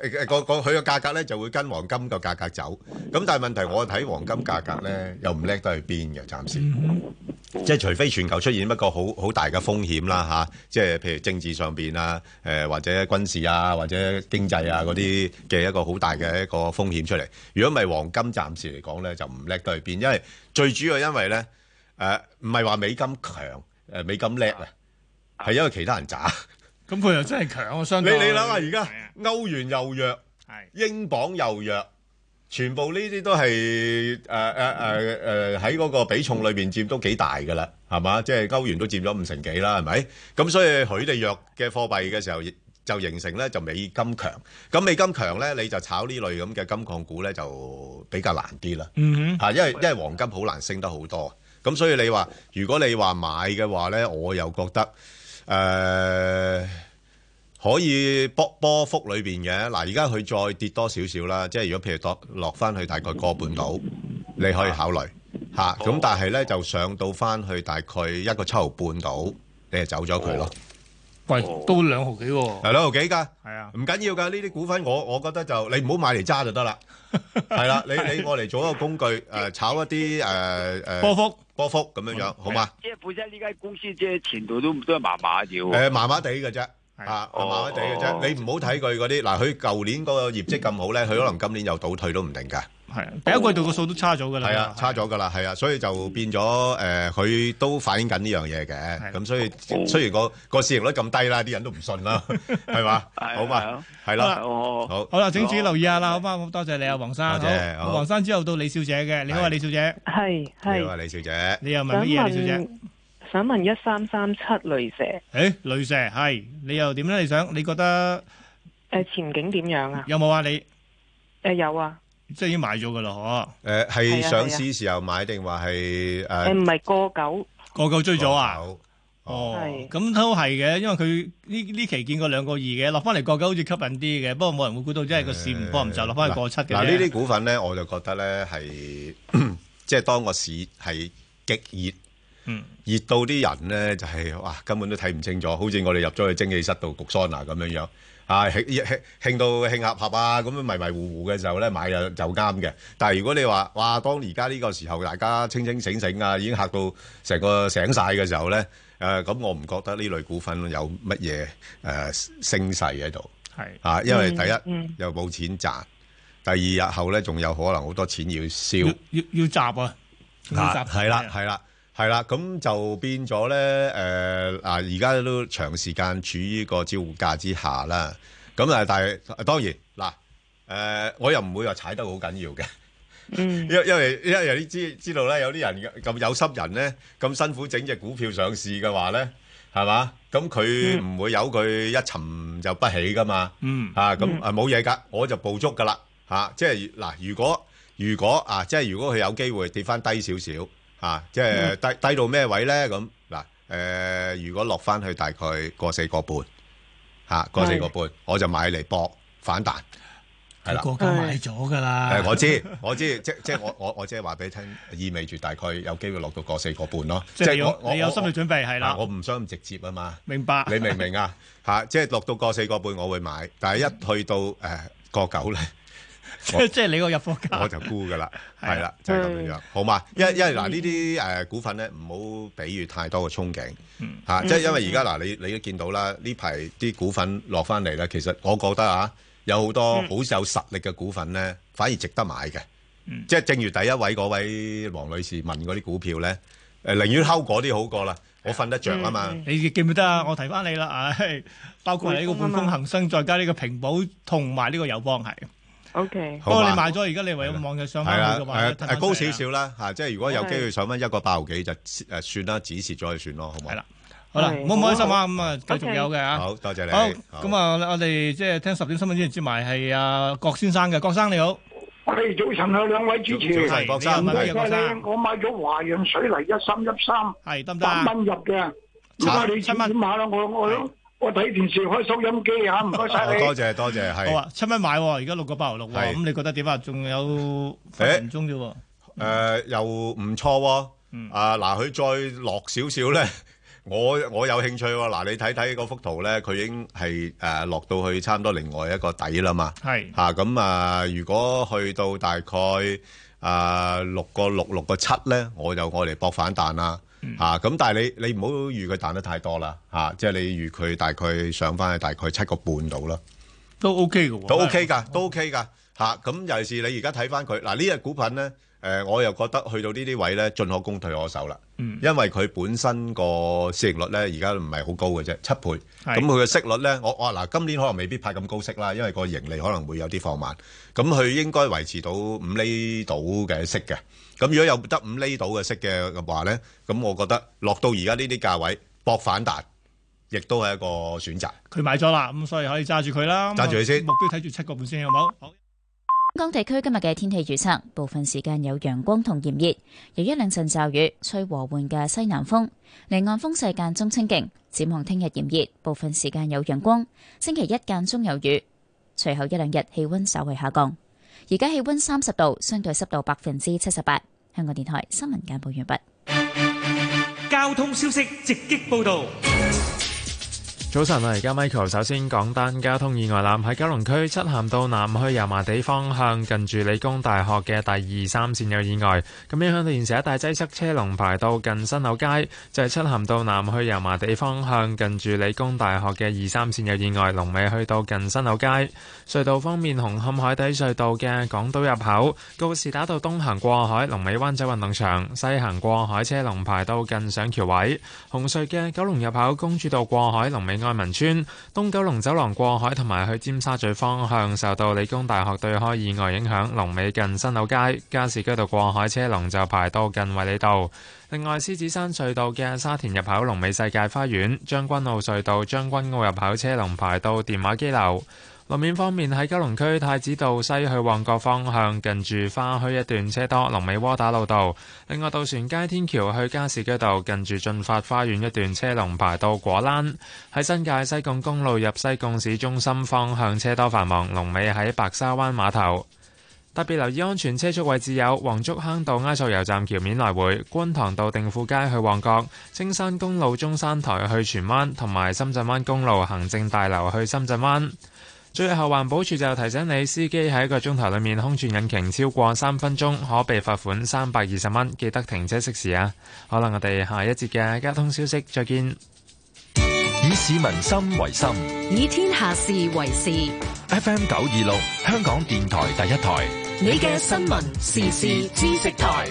誒個個佢個價格咧就會跟黃金個價格走。咁但係問題我睇黃金價格咧又唔叻得去邊嘅，暫時。即係除非全球出現一個好好大嘅風險啦嚇，即係譬如政治上邊啊，誒或者軍事啊，或者經濟啊嗰啲嘅一個好大嘅一個風險出嚟。如果唔係黃金暫時嚟講咧就唔叻得去邊，因為最主要因為咧誒唔係話美金強誒美金叻啊，係因為其他人渣。 咁佢又真係強啊！相對你你諗下而家歐元又弱，英鎊又弱。全部呢啲都係誒誒誒誒喺嗰個比重裏邊佔都幾大㗎啦，係嘛？即係歐元都佔咗五成幾啦，係咪？咁所以佢哋弱嘅貨幣嘅時候，就形成咧就美金強。咁美金強咧，你就炒呢類咁嘅金礦股咧，就比較難啲啦。 嗯哼，因為因為黃金好難升得好多。咁所以你話，如果你話買嘅話咧，我又覺得誒。呃可以波波幅裏邊嘅嗱，而家佢再跌多少少啦，即係如果譬如落落翻去大概個半度，你可以考慮嚇。咁、啊、但係咧就上到翻去大概一個七毫半度，你就走咗佢咯。 喂，都兩毫幾喎？ 係兩毫幾㗎？ 係啊， 唔緊要㗎。呢啲股份我我覺得就你唔好買嚟揸就得啦。係啦，你你我嚟做一個工具誒、呃，炒一啲誒誒波幅波幅咁樣樣，好嘛？ 即係本身呢間公司即係前途都都係麻麻嘅喎。 誒，麻麻地嘅啫。啊，麻麻地嘅啫，你唔好睇佢嗰啲嗱，佢舊年嗰個業績咁好咧，佢可能今年又倒退都唔定㗎。 係啊，第一季度個數都差咗㗎啦。 係啊，差咗㗎啦，係啊，所以就變咗誒，佢都反映緊呢樣嘢嘅。咁所以雖然個個市盈率咁低啦，啲人都唔信啦，係嘛？好嘛，係啦，好， 好啦，請注意留意下啦，好嘛？咁多謝你啊，黃生。 多謝。 好，黃生之後到李小姐嘅，你好啊，李小姐。 係係。 你好啊，李小姐。 你又問乜嘢啊，李小姐？ 想問一三三七雷蛇， 誒雷蛇係你又點咧？你想你覺得誒前景點樣啊？ 有冇啊？你誒有啊， 即係已經買咗噶啦，嗬？ 誒係上市時候買定話係誒？ 誒唔係過九， 過九追咗啊？ 哦， 咁都係嘅，因為佢呢呢期見過兩個二嘅，落翻嚟過九好似吸引啲嘅，不過冇人會估到，即係個市唔波唔就落翻去過七嘅。 嗱呢啲股份咧，我就覺得咧係即係當個市係極熱。 嗯， 熱到啲人咧就係、是、哇，根本都睇唔清楚，好似我哋入咗去蒸汽室度焗桑拿咁樣樣，啊興興興到興合合啊，咁樣迷迷糊糊嘅時候咧買就就啱嘅。但係如果你話哇，當而家呢個時候大家清清醒醒啊，已經嚇到成個醒晒嘅時候咧，誒、呃、咁我唔覺得呢類股份有乜嘢誒升勢喺度， 係啊，因為第一、 嗯嗯、 又冇錢賺，第二日後咧仲有可能好多錢要燒， 要要要集啊， 啊係啦係啦。係啦，咁就變咗咧，誒啊！而家都長時間處於個招呼價之下啦。咁啊，但係當然嗱，誒、呃、我又唔會話踩得好緊要嘅， 嗯， 因因為因為你知知道咧，有啲人咁有心人咧，咁辛苦整隻股票上市嘅話咧，係嘛？咁佢唔會由佢一沉就不起噶嘛， 嗯， 啊咁啊冇嘢㗎，我就捕捉㗎啦，嚇、啊！即係嗱，如果如果啊，即係如果佢有機會跌翻低少少。啊，即係低低到咩位咧？咁嗱，誒，如果落翻去大概個四個半，嚇個四個半，我就買嚟搏反彈，係啦。 個個買咗㗎啦。 誒，我知我知，即即係我我我即係話俾你聽，意味住大概有機會落到個四個半咯。 即係我你有心理準備係啦。 我唔想咁直接啊嘛。 明白。 你明唔明啊？嚇，即係落到個四個半，我會買，但係一去到誒個九咧。 即即係你個入貨價， 我就沽噶啦，係啦，就係咁樣樣，好嘛？因因為嗱呢啲誒股份咧，唔好俾予太多嘅憧憬，嚇，即係因為而家嗱，你你都見到啦，呢排啲股份落翻嚟咧，其實我覺得啊，有好多好有實力嘅股份咧，反而值得買嘅，即係正如第一位嗰位黃女士問嗰啲股票咧，誒寧願睺嗰啲好過啦，我瞓得着啊嘛。 你記唔記得啊？我提翻你啦，唉，包括你呢個匯豐恒生，再加呢個平保同埋呢個友邦係。 O K， 不過你買咗，而家你唯有望佢上翻去嘅話， 係誒高少少啦嚇，即係如果有機會上翻一個八毫幾就誒算啦，止蝕咗就算咯，好唔好？係啦，好啦，唔好唔開心啊，咁啊繼續有嘅嚇。 好多謝你。 好，咁啊，我哋即係聽十點新聞之前接埋係阿郭先生嘅，郭生你好。 喂，早晨啊，兩位主持。 早晨，郭生。 唔該曬你，我買咗華潤水泥一三一三， 係得唔得？ 八蚊入嘅，唔該你七蚊買啦，我我。我睇電視開收音機嚇，唔該曬你。 多謝多謝，係。 好啊，七蚊買喎，而家六個八毫六喎，咁你覺得點啊？仲有分分鐘啫喎。 誒，又唔錯喎。啊，嗱，佢再落少少咧， 我我有興趣喎。嗱，你睇睇嗰幅圖咧，佢已經係誒落到去差唔多另外一個底啦嘛。 係嚇咁啊！如果去到大概啊六個六六個七咧，我就我嚟搏反彈啦。嚇咁，但係你你唔好預佢彈得太多啦。嚇，即係你預佢大概上翻去大概七個半度啦。 都 OK 嘅喎， 都 OK 㗎，都 OK 㗎。嚇咁尤其是你而家睇翻佢嗱呢隻股份咧，誒我又覺得去到呢啲位咧，進可攻退可守啦。嗯，因為佢本身個市盈率咧，而家唔係好高嘅啫，七倍。咁佢嘅息率咧，我我嗱今年可能未必派咁高息啦，因為個盈利可能會有啲放慢。咁佢應該維持到五厘到嘅息嘅。咁如果有得五厘到嘅息嘅話咧，咁我覺得落到而家呢啲價位搏反彈，亦都係一個選擇。 佢買咗啦，咁所以可以揸住佢啦。 揸住佢先， 目標睇住七個半先，好冇？好。 香港地區今日嘅天氣預測，部分時間有陽光同炎熱，有一兩陣驟雨，吹和緩嘅西南風，離岸風勢間中清勁。展望聽日炎熱，部分時間有陽光，星期一間中有雨，隨後一兩日氣溫稍為下降。而家氣溫三十度，相對濕度百分之七十八。香港電台新聞簡報完畢。 交通消息直擊報道。 早晨啊！而家 Michael 首先講單交通意外啦，喺九龍區漆咸道南去油麻地方向，近住理工大學嘅第二三線有意外，咁影響到現時一帶擠塞，車龍排到近新樓街，就係漆咸道南去油麻地方向，近住理工大學嘅二三線有意外，龍尾去到近新樓街。隧道方面，紅磡海底隧道嘅港島入口，告士打道東行過海，龍尾灣仔運動場；西行過海車龍排到近上橋位。紅隧嘅九龍入口，公主道過海，龍尾愛民村。東九龍走廊過海同埋去尖沙咀方向，受到理工大學對開意外影響，龍尾近新樓街。加士居道過海車龍就排到近衛理道。另外，獅子山隧道嘅沙田入口，龍尾世界花園。將軍澳隧道將軍澳入口車龍排到電話機樓。路面方面，喺九龍區太子道西去旺角方向，近住花墟一段車多，龍尾窩打老道。另外，渡船街天橋去加士居道，近住進發花園一段車龍排到果欄。喺新界西貢公路入西貢市中心方向車多繁忙，龍尾喺白沙灣碼頭。特別留意安全車速位置有黃竹坑道埃索油站橋面來回、觀塘道定富街去旺角、青山公路中山台去荃灣，同埋深圳灣公路行政大樓去深圳灣。最後，環保署就提醒你，司機喺一個鐘頭裏面空轉引擎超過三分鐘，可被罰款三百二十蚊。記得停車熄匙啊！好啦，我哋下一節嘅交通消息再見。 以市民心為心， 以天下事為事。 F M 九二六，香港電台第一台， 你嘅新聞時事知識台。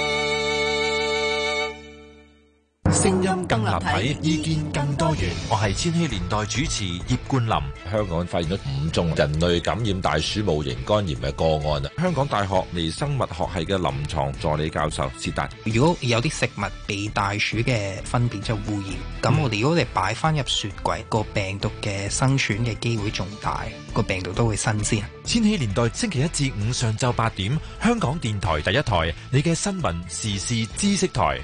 聲音更立體，意見更多元。我係千禧年代主持葉冠霖。 香港發現咗五宗人類感染大鼠戊型肝炎嘅個案啊！香港大學微生物學系嘅臨床助理教授薛達， 如果有啲食物被大鼠嘅糞便就污染，咁我哋如果我哋擺翻入雪櫃，個病毒嘅生存嘅機會仲大，個病毒都會新鮮。 千禧年代星期一至五上晝八點，香港電台第一台，你嘅新聞時事知識台。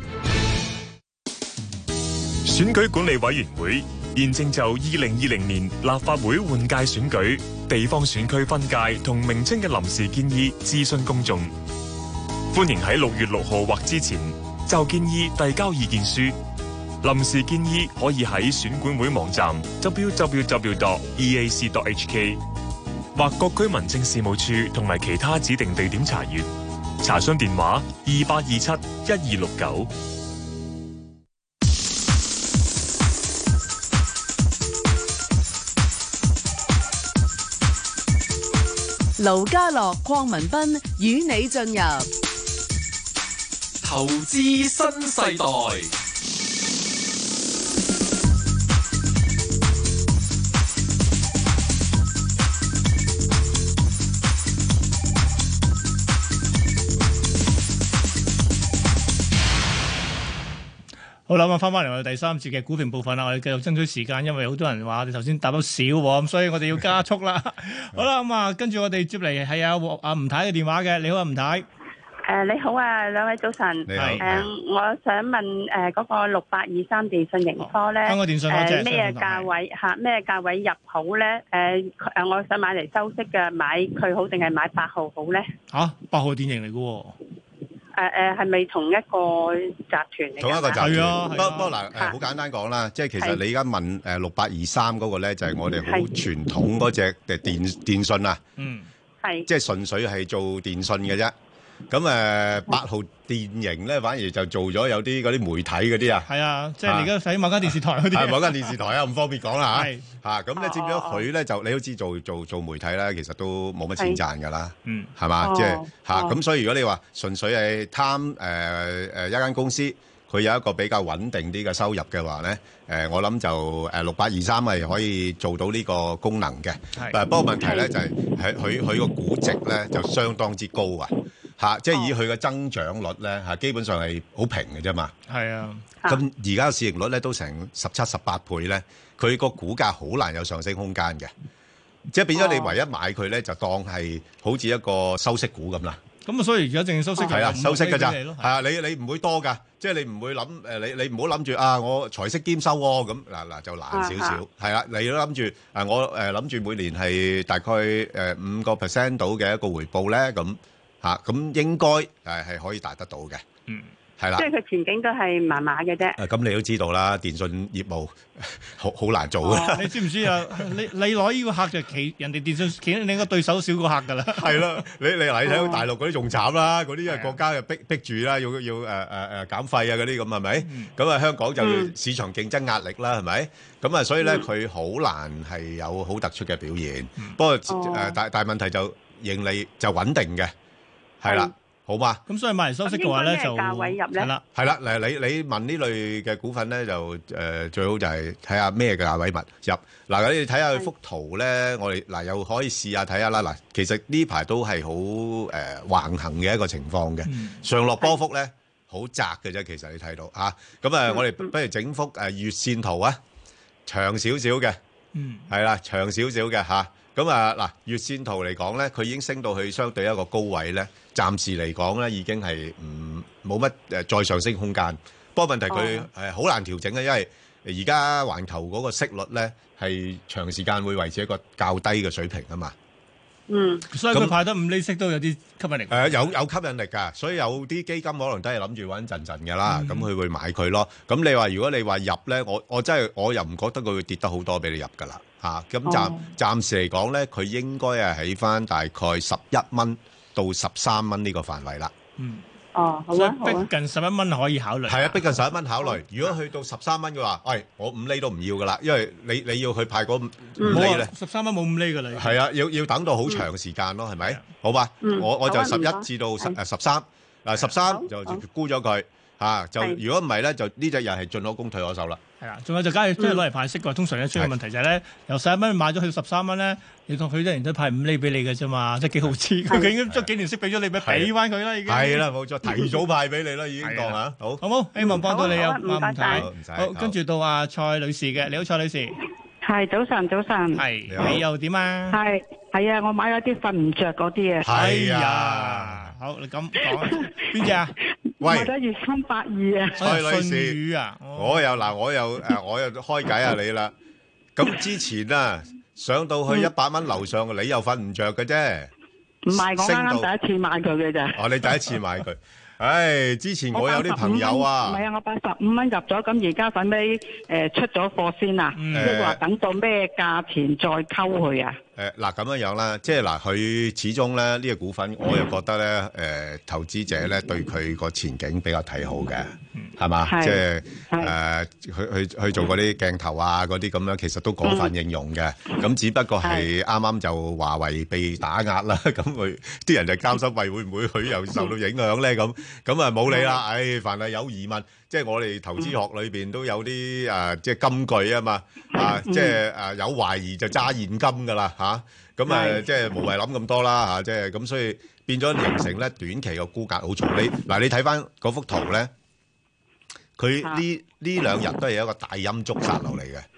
選舉管理委員會現正就二零二零年立法會換屆選舉、地方選區分界同名稱嘅臨時建議諮詢公眾，歡迎喺六月六號或之前就建議遞交意見書。臨時建議可以喺選管會網站 double-u double-u double-u dot e a c dot h k 或各區民政事務處同埋其他指定地點查閱。查詢電話二八二七一二六九。 盧家樂、鄺民彬與你進入投資新世代。 好啦，咁翻翻嚟我哋第三節嘅股評部分啦，我哋繼續爭取時間，因為好多人話你頭先答得少喎，咁所以我哋要加速啦。好啦，咁啊，跟住我哋接嚟係阿阿吳太嘅電話嘅，你好啊，吳太。 誒，你好啊，兩位早晨。 你好。 誒，我想問誒嗰個六八二三電訊盈科咧， 香港電訊嗰隻誒咩價位嚇？咩價位入好咧？誒誒，我想買嚟收息嘅，買佢好定係買八號好咧？ 嚇，八號電盈嚟嘅喎。 誒係咪同一個集團嚟㗎？ 同一個集團。 係啊不不過嗱誒，好簡單講啦，即係其實你而家問誒六八二三嗰個咧，就係我哋好傳統嗰隻嘅電電訊啊。 嗯。 係。 即係純粹係做電訊嘅啫。咁誒八號電盈咧，反而就做咗有啲嗰啲媒體嗰啲啊。 係啊，即係你而家睇某間電視台嗰啲。 係某間電視台啊，唔方便講啦嚇。 係。 嚇咁咧，佔咗佢咧就你都知做做做媒體咧，其實都冇乜錢賺㗎啦。 嗯。 係嘛？即係嚇咁， 哦所以如果你話純粹係貪誒誒一間公司，佢有一個比較穩定啲嘅收入嘅話咧，誒我諗就誒六八二三係可以做到呢個功能嘅。 係。 誒不過問題咧就係係佢佢個估值咧就相當之高啊。嚇！即係以佢嘅增長率咧嚇，基本上係好平嘅啫嘛。 係啊。 咁而家市盈率咧都成十七、十八倍咧，佢個股價好難有上升空間嘅。即係變咗你唯一買佢咧，就當係好似一個收息股咁啦。 咁啊，所以而家淨係收息係啊，收息㗎咋。 係係啊，你你唔會多㗎，即係你唔會諗誒，你你唔好諗住啊，我財息兼收喎，咁嗱嗱就難少少。係啦，你都諗住誒，我誒諗住每年係大概誒五個 percent 到嘅一個回報咧，咁。嚇，咁應該誒係可以達得到嘅，嗯，係啦。 即係佢前景都係麻麻嘅啫。 誒，咁你都知道啦，電信業務好好難做嘅。 你知唔知啊？你你攞呢個客就企人哋電信企你個對手少個客㗎啦。 係啦，你你嗱，你睇到大陸嗰啲仲慘啦，嗰啲因為國家又逼逼住啦，要要誒誒誒減費啊嗰啲咁係咪？咁啊香港就要市場競爭壓力啦，係咪？咁啊所以咧佢好難係有好突出嘅表現。不過誒大大問題就盈利就穩定嘅。係啦，好嘛？ 咁所以買嚟收息嘅話咧，就價位入咧， 係啦，係啦。嗱，你你問呢類嘅股份咧，就誒最好就係睇下咩價位物入。嗱，你睇下佢幅圖咧，我哋嗱又可以試下睇下啦。嗱，其實呢排都係好誒橫行嘅一個情況嘅，上落波幅咧好窄嘅啫。其實你睇到嚇，咁啊，我哋不如整幅誒月線圖啊，長少少嘅，嗯，係啦，長少少嘅嚇。咁啊嗱，月線圖嚟講咧，佢已經升到去相對一個高位咧。暫時嚟講咧，已經係唔冇乜誒再上升空間。不過問題佢係好難調整嘅，因為而家環球嗰個息率咧係長時間會維持一個較低嘅水平啊嘛。 嗯， 所以佢派得五厘息都有啲吸引力。 誒有有吸引力㗎，所以有啲基金可能都係諗住穩陣陣㗎啦，咁佢會買佢咯。咁你話如果你話入咧，我我真係我又唔覺得佢會跌得好多俾你入㗎啦嚇。咁暫暫時嚟講咧，佢應該係喺翻大概十一蚊到十三蚊呢個範圍啦。 嗯。 哦，好所以啊，好啊。 逼近十一蚊可以考慮。 係啊，逼近十一蚊考慮。如果去到十三蚊嘅話，喂，我五厘都唔要㗎啦，因為你你要去派嗰五厘咧。 十三蚊冇五厘㗎啦。 係啊，要要等到好長時間咯，係咪？好吧，我我就十一至到十誒十三，嗱十三就沽咗佢嚇，就如果唔係咧，就呢隻又係進可攻退可守啦。 係啦，仲有就假如即係攞嚟派息嘅話，通常咧出現問題就係咧，由十一蚊買咗去十三蚊咧，你當佢一年都派五厘俾你嘅啫嘛，即係幾毫子，佢已經將幾年息俾咗你，咪俾翻佢啦已經。係啦， 冇錯，提早派俾你啦，已經當嚇，好， 好冇？希望幫到你啊， 唔該晒。 好，跟住到阿蔡女士嘅，你好，蔡女士。 係早晨，早晨。 係，你又點啊？ 係係啊，我買咗啲瞓唔着嗰啲啊。 係啊，好，你咁講邊隻啊？ 喂， 買咗月三百二啊。 蔡女士啊， 我又嗱，我又誒，我又開解下你啦。咁之前啊，上到去一百蚊樓上，你又瞓唔着嘅啫。 唔係，我啱啱第一次買佢嘅咋。 哦，你第一次買佢。唉，之前我有啲朋友啊， 唔係啊，我八十五蚊入咗，咁而家使尾誒出咗貨先啊，即係話等到咩價錢再溝佢啊？ 誒嗱咁樣樣啦，即係嗱，佢始終咧呢個股份，我又覺得咧誒投資者咧對佢個前景比較睇好嘅，係嘛？即係誒去去去做嗰啲鏡頭啊嗰啲咁樣，其實都廣泛應用嘅。咁只不過係啱啱就華為被打壓啦，咁佢啲人就擔心喂會唔會佢又受到影響咧？咁咁啊冇理啦，唉，凡係有疑問。即係我哋投資學裏邊都有啲誒，即係金句啊嘛，啊，即係誒有懷疑就揸現金㗎啦嚇，咁誒即係無謂諗咁多啦嚇，即係咁，所以變咗形成咧短期個沽壓好重。你嗱你睇翻嗰幅圖咧，佢呢呢兩日都係一個大陰燭殺落嚟嘅，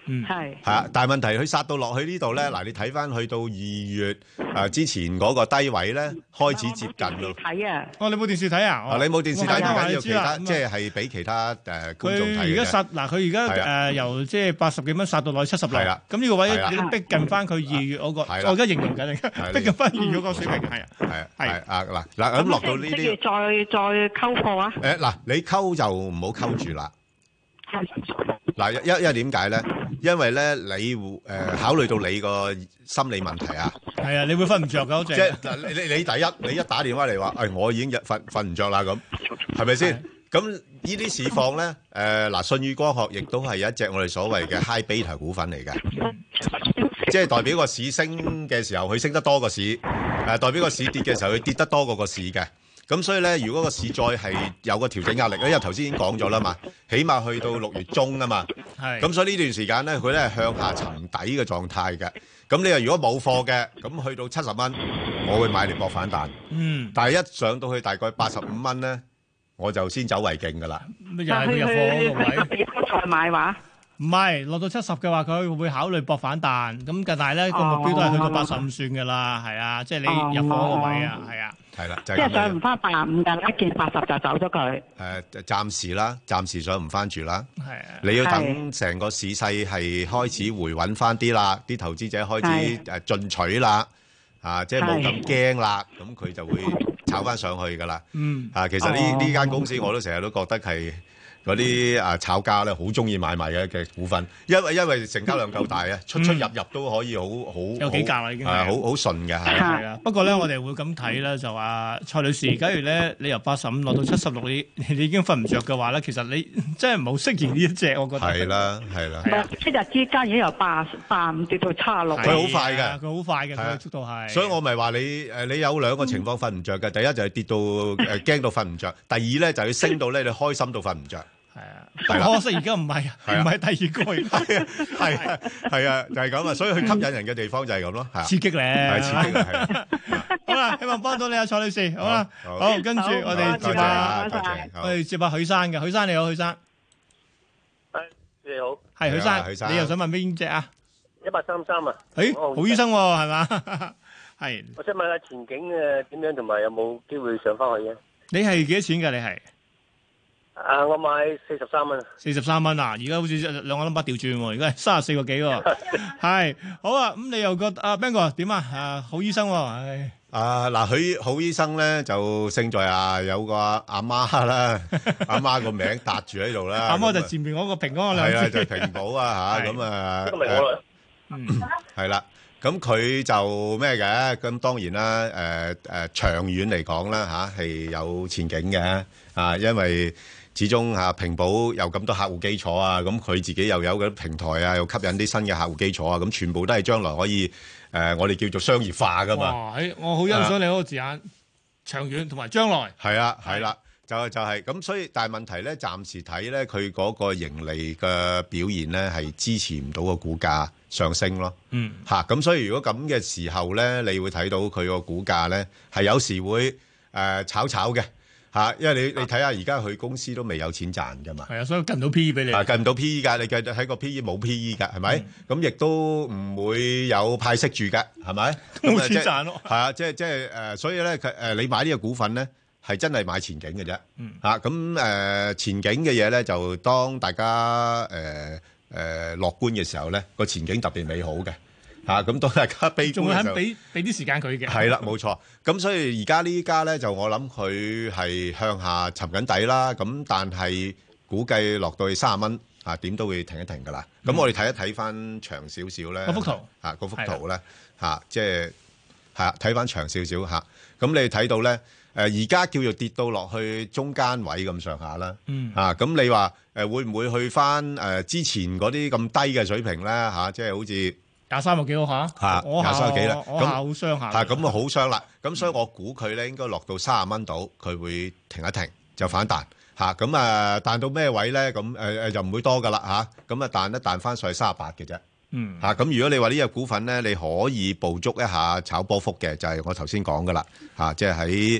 嗯， 係係啊，但係問題佢殺到落去呢度咧，嗱，你睇翻去到二月誒之前嗰個低位咧，開始接近咯。 睇啊！ 哦，你冇電視睇啊？ 啊，你冇電視睇唔緊要，其他咁即係係俾其他誒觀眾睇嘅。 佢而家殺嗱，佢而家係啊誒由即係八十幾蚊殺到落去七十六。 係啦咁呢個位係啦你逼近翻佢二月嗰個， 係啦我而家形容緊，而家係逼近翻二月嗰個水平，係啊。 係啊係啊嗱嗱咁落到呢即啲係再再溝貨啊！ 誒嗱，你溝就唔好溝住啦。嗱，因因為點解咧？因為咧，你誒、呃、考慮到你個心理問題啊， 係啊，你會瞓唔着㗎，好正。 即係嗱，你你你第一，你一打電話嚟話，誒、哎，我已經日瞓瞓唔着啦，咁係咪先？咁呢啲市況咧，誒、呃、嗱，舜宇光學亦都係一隻我哋所謂嘅 high beta 股份嚟嘅，即係代表個市升嘅時候，佢升得多個市；誒、呃、代表個市跌嘅時候，佢跌得多過個市嘅。咁所以咧，如果個市再係有個調整壓力咧，因為頭先已經講咗啦嘛，起碼去到六月中啊嘛， 係。 咁所以呢段時間咧，佢咧係向下沉底嘅狀態嘅。咁你話如果冇貨嘅，咁去到七十蚊，我會買嚟搏反彈。 嗯。 但係一上到去大概八十五蚊咧，我就先走為敬㗎啦。 咁又係佢入貨嗰個位。 再買話？ 唔係落到七十嘅話，佢會考慮搏反彈。咁但係咧個目標都係去到八十五算㗎啦，係啊，即係你入貨嗰個位啊，係啊。 係啦，就即係上唔翻八十五㗎，一見八十就走咗佢。 誒，暫時啦，暫時上唔翻住啦。 係啊， 你要等成個市勢係開始回穩翻啲啦，啲投資者開始誒進取啦，啊，即係冇咁驚啦，咁佢就會炒翻上去㗎啦。 嗯， 啊，其實呢呢間公司我都成日都覺得係嗰啲啊炒家咧好中意買賣嘅嘅股份，因為因為成交量夠大啊，出出入入都可以好好有幾格啦已經係係好好順嘅係。 係啊，不過咧，我哋會咁睇咧，就話蔡女士，假如咧你由八十五落到七十六，你你已經瞓唔着嘅話咧，其實你真係唔好適宜呢一隻，我覺得。 係啦，係啦。 唔係一日之間已經由八八五跌到七十六。 佢好快嘅， 佢好快嘅，佢嘅速度係。 所以我咪話你誒，你有兩個情況瞓唔着嘅，第一就係跌到誒驚到瞓唔着，第二咧就係升到咧你開心到瞓唔着。 係啊，可惜而家唔係，唔係第二個， 係啊，係啊，係啊，就係咁啊，所以佢吸引人嘅地方就係咁咯，係刺激咧， 係刺激啊， 好啦，希望幫到你啊，蔡女士，好啦，好，跟住我哋接下，我哋接下許生嘅，許生你好，許生， 你好， 係許生，你又想問邊隻啊？ 一八三三啊， 誒，好醫生喎，係嘛？係， 我想問下前景誒點樣，同埋有冇機會上翻去嘅？ 你係幾多錢㗎？你係？ 啊！我買四十三蚊， 四十三蚊啊！而家好似兩個 number 調轉喎，而家係三十四個幾喎。係好啊！咁你又覺得啊邊個點啊？啊好醫生喎，唉啊嗱，佢好醫生咧就勝在啊有個阿媽啦，阿媽個名搭住喺度啦。 阿媽就前面嗰個平安兩字。 係啊，就係平保啊嚇咁啊。 咁咪我啦。 嗯， 係啦。咁佢就咩嘅？咁當然啦，誒誒長遠嚟講啦嚇係有前景嘅啊，因為始終嚇平保有咁多客戶基礎啊，咁佢自己又有嗰啲平台啊，又吸引啲新嘅客戶基礎啊，咁全部都係將來可以誒，我哋叫做商業化噶嘛。 哇！我好欣賞你嗰個字眼，長遠同埋將來。 係啊，係啦，就就係咁，所以但係問題咧，暫時睇咧，佢嗰個盈利嘅表現咧係支持唔到個股價上升咯。 嗯。 嚇，咁所以如果咁嘅時候咧，你會睇到佢個股價咧係有時會誒炒炒嘅。嚇，因為你你睇下而家佢公司都未有錢賺㗎嘛， 係啊，所以計唔到 P E 俾你， 啊計唔到 P E 㗎，你計睇個 P E 冇 P E 㗎，係咪？咁亦都唔會有派息住㗎，係咪？ 冇錢賺咯， 係啊，即係即係誒，所以咧佢誒你買呢個股份咧係真係買前景嘅啫， 嗯嚇咁誒前景嘅嘢咧就當大家誒誒樂觀嘅時候咧個前景特別美好嘅。嚇咁當大家悲觀嘅時候， 仲會肯俾俾啲時間佢嘅。 係啦，冇錯。咁所以而家呢家咧就我諗佢係向下沉緊底啦。咁但係估計落到去三十蚊啊，點都會停一停㗎啦。咁、嗯、我哋睇一睇翻長少少咧， 嗰幅圖啊，嗰幅圖咧嚇，即係係啊，睇翻長少少嚇。咁你睇到咧誒，而家叫做跌到落去中間位咁上下啦。 嗯。 啊，咁你話誒會唔會去翻誒之前嗰啲咁低嘅水平咧嚇？即係好似廿三個幾好下， 嚇廿三個幾啦， 我下好傷下， 係咁啊好傷啦，咁所以我估佢咧應該落到三十蚊度，佢會停一停就反彈嚇，咁啊彈到咩位咧？咁誒誒就唔會多噶啦嚇，咁啊彈一彈翻上去三十八嘅啫， 嗯嚇，咁如果你話呢隻股份咧，你可以捕捉一下炒波幅嘅，就係我頭先講噶啦嚇，即係喺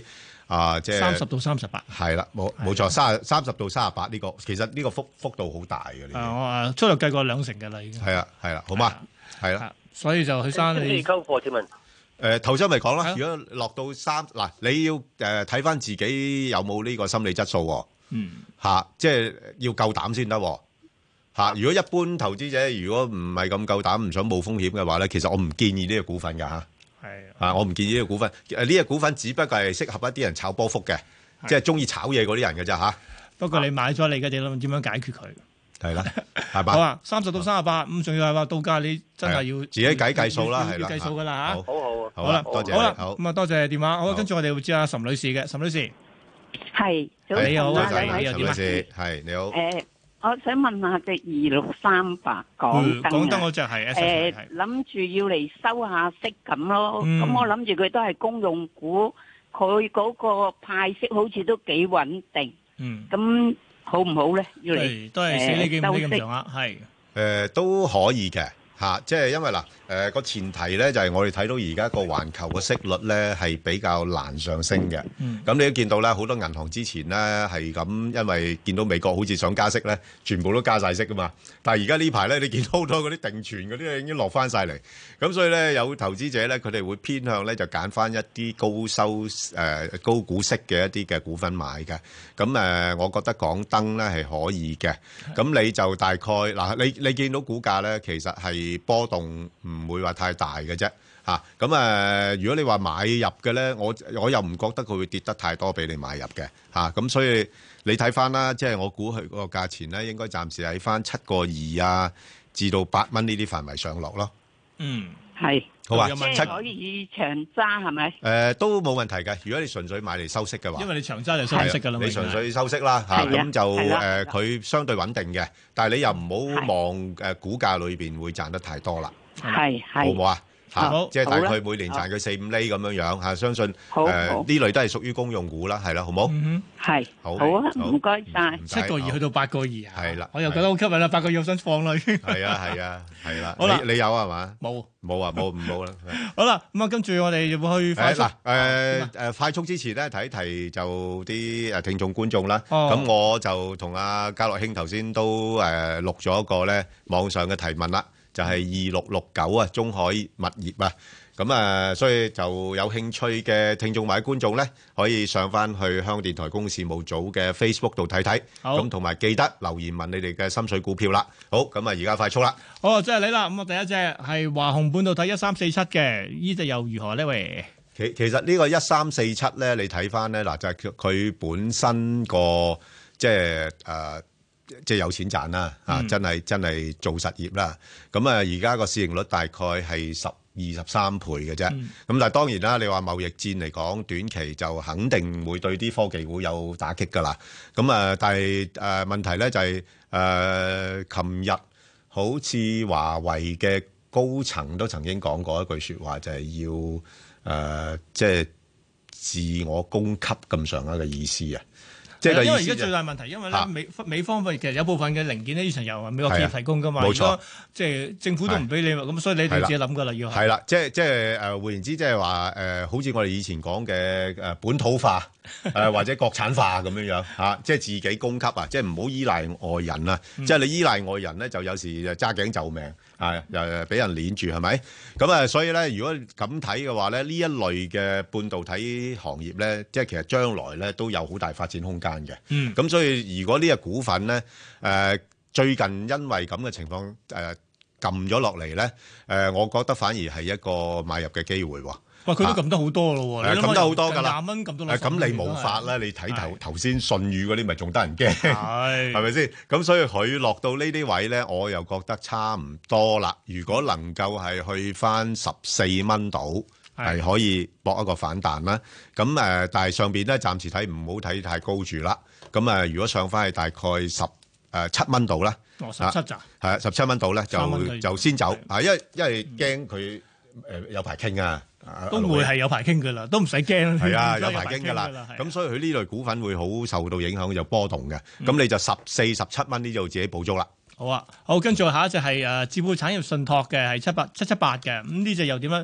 啊，即係三十到三十八， 係啦，冇冇錯，三三十到三十八呢個，其實呢個幅幅度好大嘅。 啊，我啊粗略計過兩成嘅啦，已經。 係啊，係啦，好嘛，係啦。 所以就許生你溝貨請問？ 誒頭先咪講啦，如果落到三嗱，你要誒睇翻自己有冇呢個心理質素喎。 嗯。 嚇，即係要夠膽先得喎。嚇，如果一般投資者如果唔係咁夠膽，唔想冒風險嘅話咧，其實我唔建議呢個股份㗎嚇。 係。 啊，我唔建議呢個股份。誒，呢個股份只不過係適合一啲人炒波幅嘅，即係中意炒嘢嗰啲人嘅啫嚇。 不過你買咗，你而家點諗點樣解決佢？ 係啦，係嘛？ 好啊，三十到三十八，咁仲要係話到價，你真係要自己計計數啦，係啦， 要計數㗎啦嚇。 好好好好啦， 多謝好啦， 好咁啊多謝電話。好，跟住我哋會知阿岑女士嘅，岑女士。 係， 你好啊， 岑你又點啊？ 係你好。 誒，我想問下隻二六三八港燈啊， 港燈嗰隻係誒，諗住要嚟收下息咁咯。 嗯咁我諗住佢都係公用股，佢嗰個派息好似都幾穩定。 嗯。 咁好唔好咧？要嚟都係死你幾唔誒幾咁上下，係。 誒都可以嘅嚇，即係因為嗱誒個前提咧就係我哋睇到而家個環球嘅息率咧係比較難上升嘅。 嗯。 咁你都見到咧，好多銀行之前咧係咁，因為見到美國好似想加息咧，全部都加晒息噶嘛。但係而家呢排咧，你見到好多嗰啲定存嗰啲已經落翻晒嚟。咁所以咧，有投資者咧，佢哋會偏向咧就揀翻一啲高收誒、呃、高股息嘅一啲嘅股份買嘅。咁誒、呃，我覺得港燈咧係可以嘅。咁你就大概嗱，你你見到股價咧，其實係波動唔會話太大嘅啫。嚇咁誒，如果你話買入嘅咧，我我又唔覺得佢會跌得太多俾你買入嘅嚇。咁、啊、所以你睇翻啦，即係我估佢個價錢咧，應該暫時喺翻七個二啊，至到八蚊呢啲範圍上落咯。 嗯， 係。 好啊， 即係可以長揸係咪？ 誒都冇問題嘅。如果你純粹買嚟收息嘅話， 因為你長揸就收息㗎啦嘛。 你純粹收息啦嚇，咁就誒佢相對穩定嘅，但係你又唔好望誒股價裏邊會賺得太多啦。 係係。 好唔好啊？嚇，即係大概好啦每年賺佢四五厘咁樣樣嚇，相信誒好好呢類都係屬於公用股啦，係啦，好唔好？ 嗯係。 好。 好啊，唔該晒。 七個二去到八個二啊。 係啦。 我又覺得好吸引啦，八個二我想放啦已經。 係啊係啊係啦。 好啦你你有係嘛？ 冇。 冇啊冇唔冇啦。 好啦，咁啊跟住我哋會去快速。 誒嗱誒誒快速之前咧提一提就啲誒聽眾觀眾啦。 哦咁我就同阿家樂兄頭先都誒錄咗一個咧網上嘅提問啦，就係二六六九啊，中海物業啊。咁啊，所以就有興趣嘅聽眾或者觀眾咧，可以上翻去香港電台公共事務組嘅 Facebook 度睇睇。 好咁同埋記得留言問你哋嘅心水股票啦。好，咁啊，而家快速啦。 好，即係你啦。咁啊，第一隻係華虹半導體一三四七嘅，呢隻又如何呢？喂， 其其實呢個一三四七咧，你睇翻咧嗱，就係佢本身個即係誒，即係有錢賺啦啊！真係真係做實業啦。咁啊，而家個市盈率大概係十二十三倍嘅啫。咁但係當然啦，你話貿易戰嚟講，短期就肯定會對啲科技股有打擊㗎啦。咁啊，但係誒問題咧就係誒，琴日好似華為嘅高層都曾經講過一句説話，就係要誒即係自我供給咁上下嘅意思啊。即係因為而家最大問題，因為咧美美方其實有部分嘅零件咧，以前由美國企業提供噶嘛， 冇錯， 即係政府都唔俾你，咁所以你哋自己諗噶啦，要係啦，即係即係誒換言之，即係話誒，好似我哋以前講嘅誒本土化誒或者國產化咁樣樣嚇，即係自己供給啊，即係唔好依賴外人啊，即係你依賴外人咧，就有時就揸頸就命啊，又俾人攆住係咪？咁啊，所以咧，如果咁睇嘅話咧，呢一類嘅半導體行業咧，即係其實將來咧都有好大發展空間嘅。 嗯， 咁所以如果呢個股份咧，誒、呃、最近因為咁嘅情況誒撳咗落嚟咧，誒、呃、我覺得反而係一個買入嘅機會喎。 哇！佢都撳得好多咯喎， 撳得好多㗎啦， 廿蚊撳到誒咁你冇法啦，你睇頭頭先信譽嗰啲咪仲得人驚， 係係咪先？咁所以佢落到呢啲位咧，我又覺得差唔多啦。如果能夠係去翻十四蚊度，係可以搏一個反彈啦。咁誒，但係上邊咧暫時睇唔好睇太高住啦。咁誒，如果上翻去大概十誒七蚊度啦， 哦十七咋？ 係啊，十七蚊度咧就就先走啊，因為因為驚佢誒有排傾啊。 都會係有排傾㗎啦，都唔使驚。 係啊，有排傾㗎啦。咁所以佢呢類股份會好受到影響，就波動嘅。咁你就十四、十七蚊呢就自己補足啦。 好啊，好，跟住下一隻係誒置富產業信託嘅，係七八七七八嘅。咁呢隻又點樣？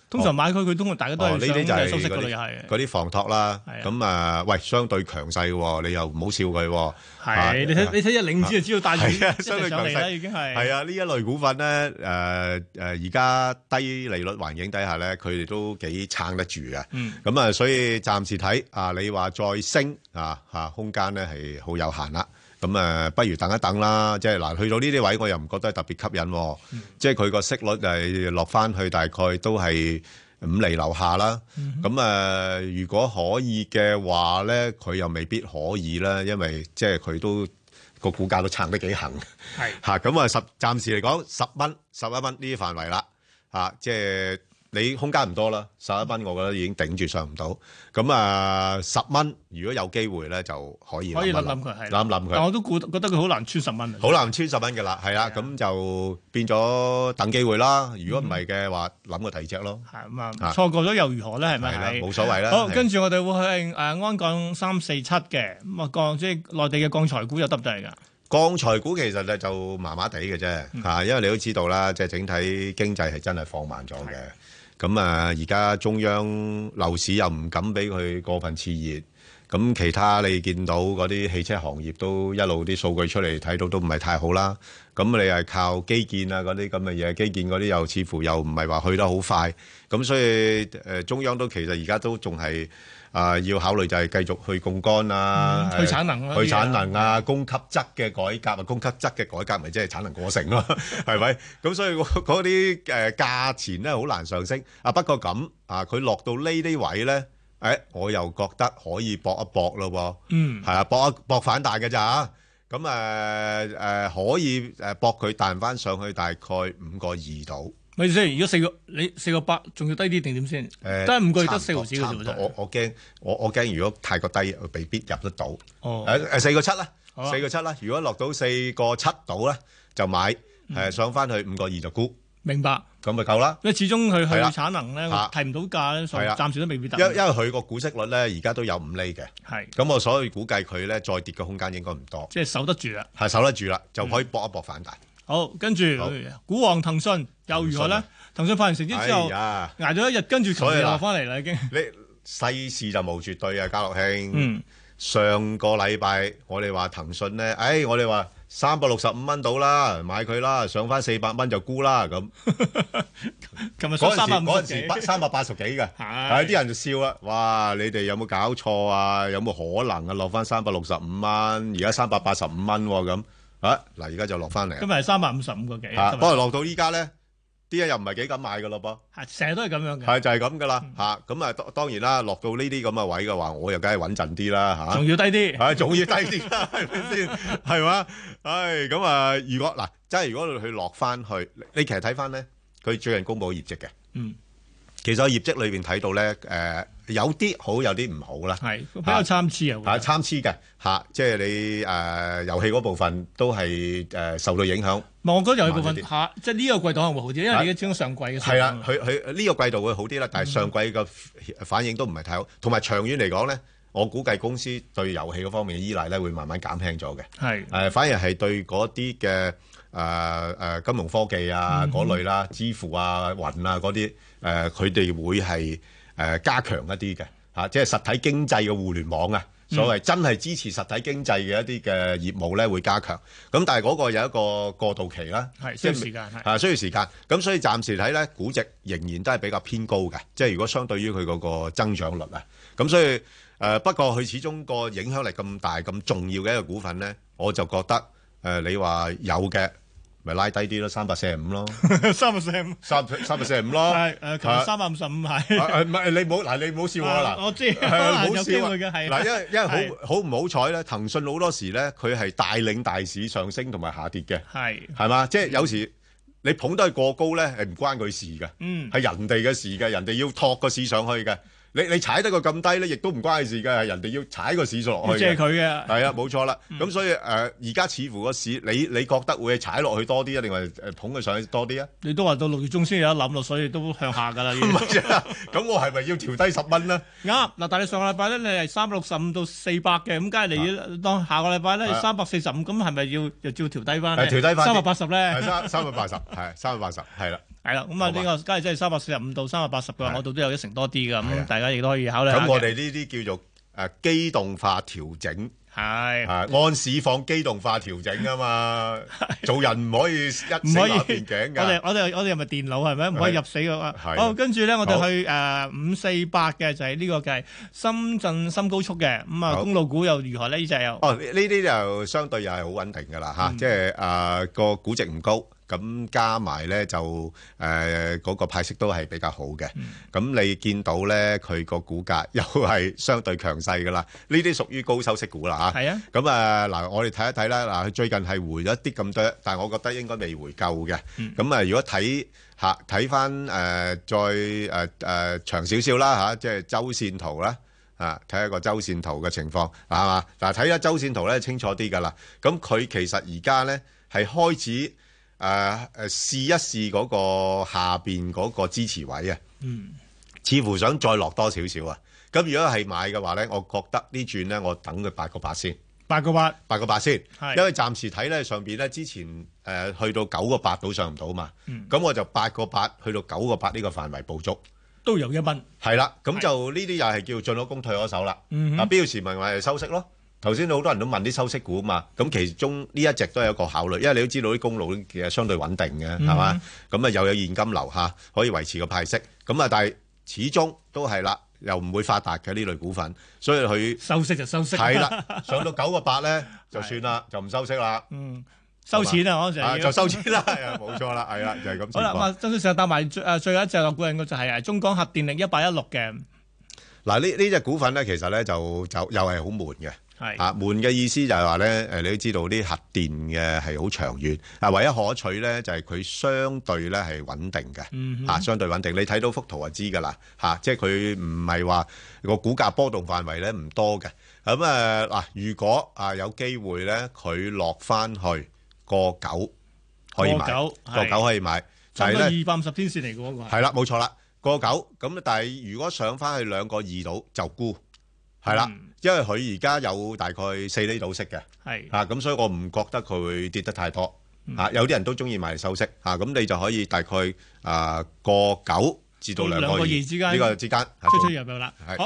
通常買佢佢通常大家都係想呢啲就係收息嗰類又係嗰啲房託啦。咁啊，喂，相對強勢喎，你又唔好笑佢喎。 係你睇你睇一領子就知道帶住係啊一隻上嚟啦，已經係。 係啊，呢一類股份咧，誒誒，而家低利率環境底下咧，佢哋都幾撐得住嘅。 嗯。 咁啊，所以暫時睇啊，你話再升啊嚇，空間咧係好有限啦。咁誒，不如等一等啦。即係嗱，去到呢啲位，我又唔覺得特別吸引喎。 嗯、 即係佢個息率係落翻去大概都係五厘樓下啦。咁誒、嗯，如果可以嘅話咧，佢又未必可以啦，因為即係佢都個股價都撐得幾行。係嚇，咁啊十暫時嚟講十蚊、十一蚊呢啲範圍啦。嚇，即係。你空間唔多啦，十一蚊我覺得已經頂住上唔到。咁啊，十蚊如果有機會咧，就可以可以諗諗佢，係諗諗佢。 但我都估覺得佢好難穿十蚊。 好難穿十蚊嘅啦，係啦，咁就變咗等機會啦。如果唔係嘅話，諗個第二隻咯。 係咁啊，錯過咗又如何咧？係咪？ 係啦，冇所謂啦。 好，跟住我哋會去誒安鋼三四七嘅咁啊，鋼即係內地嘅鋼材股有得唔得嚟㗎？ 鋼材股其實咧就麻麻地嘅啫嚇，因為你都知道啦，即係整體經濟係真係放慢咗嘅。咁啊，而家中央樓市又唔敢俾佢過分熾熱，咁其他你見到嗰啲汽車行業都一路啲數據出嚟睇到都唔係太好啦。咁你係靠基建啊嗰啲咁嘅嘢，基建嗰啲又似乎又唔係話去得好快，咁所以誒中央都其實而家都仲係啊要考慮就係繼續去槓桿啊， 去產能去產能啊，供給側嘅改革啊，供給側嘅改革咪即係產能過剩咯，係咪？咁所以嗰啲誒價錢咧好難上升啊。不過咁啊，佢落到呢啲位咧，誒我又覺得可以搏一搏咯喎， 嗯， 係啊，搏一搏反彈嘅咋嚇。咁誒誒可以誒搏佢彈翻上去大概五個二度。 咪先，如果四個你四個八，仲要低啲定點先？誒，得五個月得四毫子嘅啫喎。 我我驚我我驚，如果太過低，未必入得到。 哦。 誒誒，四個七啦，四個七啦。如果落到四個七度咧，就買。誒，上翻去五個二就沽。 明白。 咁咪夠啦。 因為始終佢佢產能咧提唔到價咧，所以暫時都未必得。 因因為佢個股息率咧，而家都有五厘嘅。係。咁我所以估計佢咧再跌嘅空間應該唔多。 即係守得住啦。係守得住啦，就可以搏一搏反彈。 好，跟住股王騰訊又如何咧？騰訊發完成績之後，捱咗一日，跟住琴日落翻嚟啦，已經。 你世事就無絕對啊，家樂兄。 嗯。 上個禮拜我哋話騰訊咧，誒，我哋話三百六十五蚊到啦，買佢啦，上翻四百蚊就沽啦咁。 琴日上三百五嗰陣時三百八十幾嘅，係啲人就笑啦，哇！你哋有冇搞錯啊？有冇可能啊？落翻三百六十五蚊，而家三百八十五蚊咁。啊！嗱，而家就落翻嚟， 今日係三百五十五個幾， 不過落到依家咧，啲人又唔係幾敢買噶咯噃， 係成日都係咁樣嘅， 係就係咁噶啦嚇。咁啊，當然啦，落到呢啲咁嘅位嘅話，我又梗係穩陣啲啦嚇， 仲要低啲， 係仲要低啲啦，係咪先？係嘛？唉，咁啊，如果嗱，真係如果佢落翻去，你其實睇翻咧，佢最近公佈業績嘅， 嗯， 其實喺業績裏邊睇到咧，誒有啲好，有啲唔好啦， 係比較參差啊， 係參差嘅嚇，即係你誒遊戲嗰部分都係誒受到影響。 我覺得遊戲部分下，即係呢個季度可能會好啲，因為你而家始終上季嘅。 係啦，佢佢呢個季度會好啲啦，但係上季嘅反應都唔係太好，同埋長遠嚟講咧，我估計公司對遊戲嗰方面嘅依賴咧會慢慢減輕咗嘅。 係誒，反而係對嗰啲嘅誒誒金融科技啊嗰類啦、支付啊、雲啊嗰啲誒，佢哋會係誒加強一啲嘅嚇，即係實體經濟嘅互聯網啊。所謂真係支持實體經濟嘅一啲嘅業務咧，會加強。咁但係嗰個有一個過渡期啦， 係需要時間， 係需要時間。咁所以暫時睇咧，估值仍然都係比較偏高嘅。即係如果相對於佢嗰個增長率啊，咁所以誒不過佢始終個影響力咁大、咁重要嘅一個股份咧，我就覺得誒你話有嘅。咪拉低啲咯，三百四十五咯， 三百四十五， 三三百四十五咯， 係誒，琴日三百五十五係， 誒唔係你唔好嗱，你唔好笑我嗱， 我知， 唔好笑嘅係嗱，因為因為好好唔好彩咧，騰訊好多時咧，佢係帶領大市上升同埋下跌嘅， 係係嘛，即係有時你捧得佢過高咧，係唔關佢事嘅， 嗯， 係人哋嘅事嘅，人哋要托個市上去嘅。你你踩得佢咁低咧，亦都唔關事嘅，人哋要踩個市數落去嘅。 即係佢嘅。 係啊，冇錯啦。咁、嗯、所以誒，而、呃、家似乎個市，你你覺得會踩落去多啲啊，定係誒捧佢上去多啲啊？ 你都話到六月中先有得諗咯，所以都向下㗎啦。 唔係啊，咁我係咪要調低十蚊咧？ 啱嗱，但係你上個禮拜咧，你係三百六十五到四百嘅，咁梗係你要當下個禮拜咧三百四十五，咁係咪要又照調低翻？ 係調低翻三百八十咧？ 係三三百八十，係三百八十，係啦。 係啦，咁啊呢個假如真係三百四十五到三百八十嘅話，我度都有一成多啲㗎，咁大家亦都可以考慮下嘅。 咁我哋呢啲叫做誒機動化調整。 係， 按市況機動化調整啊嘛，做人唔可以一死立變頸㗎。 我哋我哋我哋係咪電腦係咪？唔可以入死㗎嘛。好，跟住咧，我哋去誒五四八嘅就係呢個嘅深圳深高速嘅，咁啊公路股又如何咧？呢隻又哦，呢啲就相對又係好穩定㗎啦嚇，即係誒個估值唔高。咁加埋咧就誒嗰、呃那個派息都係比較好嘅，咁、嗯、你見到咧佢個股價又係相對強勢噶啦，呢啲屬於高收息股啦嚇。係啊，咁啊嗱，我哋睇一睇啦，嗱，佢最近係回咗一啲咁多，但係我覺得應該未回夠嘅。咁、嗯、啊，如果睇嚇睇翻誒再誒誒、呃、長少少啦嚇，即係周線圖啦，啊睇下個周線圖嘅情況係嘛？嗱，睇下周線圖咧清楚啲噶啦。咁佢其實而家咧係開始。誒、呃、誒試一試嗰個下邊嗰個支持位啊，嗯，似乎想再落多少少啊。咁如果係買嘅話咧，我覺得呢轉咧，我等佢八個八先， 八個八， 八個八先，因為暫時睇咧上邊咧之前誒、呃、去到九個八都上唔到嘛，咁、嗯、我就八個八去到九個八呢個範圍捕捉， 都有一蚊， 係啦，咁就呢啲又係叫進咗攻退咗守啦。嗯、啊，標時咪咪收息咯。頭先好多人都問啲收息股嘛，咁其中呢一隻都係一個考慮，因為你都知道啲公路其實相對穩定嘅，係、嗯、嘛？咁啊又有現金流下，可以維持個派息。咁啊，但係始終都係啦，又唔會發達嘅呢類股份，所以佢收息就收息。 係啦，上到九個八咧就算啦，就唔收息啦。 嗯，收錢啊，嗰陣、啊、 就收錢啦，係啊，冇錯啦，係啦，就係、是、咁。 好啦，咁啊，曾先生搭埋最誒最後一隻落股人嘅就係誒中港核電力一八一六嘅。 嗱，呢呢隻股份咧，其實咧就就又係好悶嘅。係啊，悶嘅意思就係話咧，誒，你都知道啲核電嘅係好長遠，啊，唯一可取咧就係佢相對咧係穩定嘅，嗯，嚇，相對穩定。你睇到幅圖就知㗎啦，嚇，即係佢唔係話個股價波動範圍咧唔多嘅。咁誒嗱，如果啊有機會咧，佢落翻去個九可以買，個九可以買，就係咧二百五十天線嚟嘅嗰個係啦，冇錯啦，個九咁，但係如果上翻去兩個二度就沽，係啦。嗯，因為佢而家有大概四厘度息嘅，係啊，咁所以我唔覺得佢會跌得太多，嚇、嗯、有啲人都中意買嚟收息，嚇咁你就可以大概啊個九至到兩個二之間呢個之間出出入入啦。好，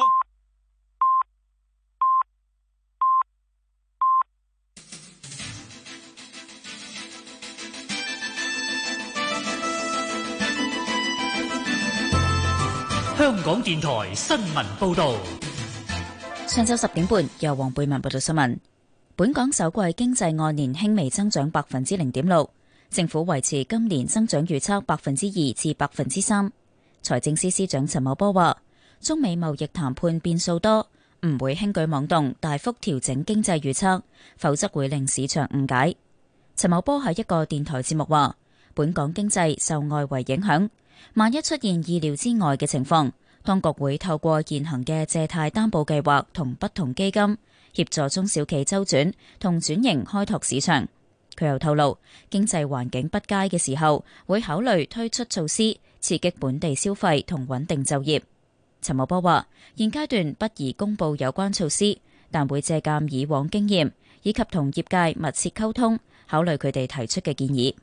香港電台新聞報導。 上晝十點半，由黃貝文報道新聞。本港首季經濟按年輕微增長百分之零點六，政府維持今年增長預測百分之二至百分之三。財政司司長陳茂波話：中美貿易談判變數多，唔會輕舉妄動，大幅調整經濟預測，否則會令市場誤解。陳茂波喺一個電台節目話：本港經濟受外圍影響，萬一出現意料之外嘅情況，當局會透過現行嘅借貸擔保計劃同不同基金協助中小企周轉同轉型開拓市場。佢又透露，經濟環境不佳嘅時候，會考慮推出措施刺激本地消費同穩定就業。陳茂波話：現階段不宜公布有關措施，但會借鑑以往經驗，以及同業界密切溝通，考慮佢哋提出嘅建議。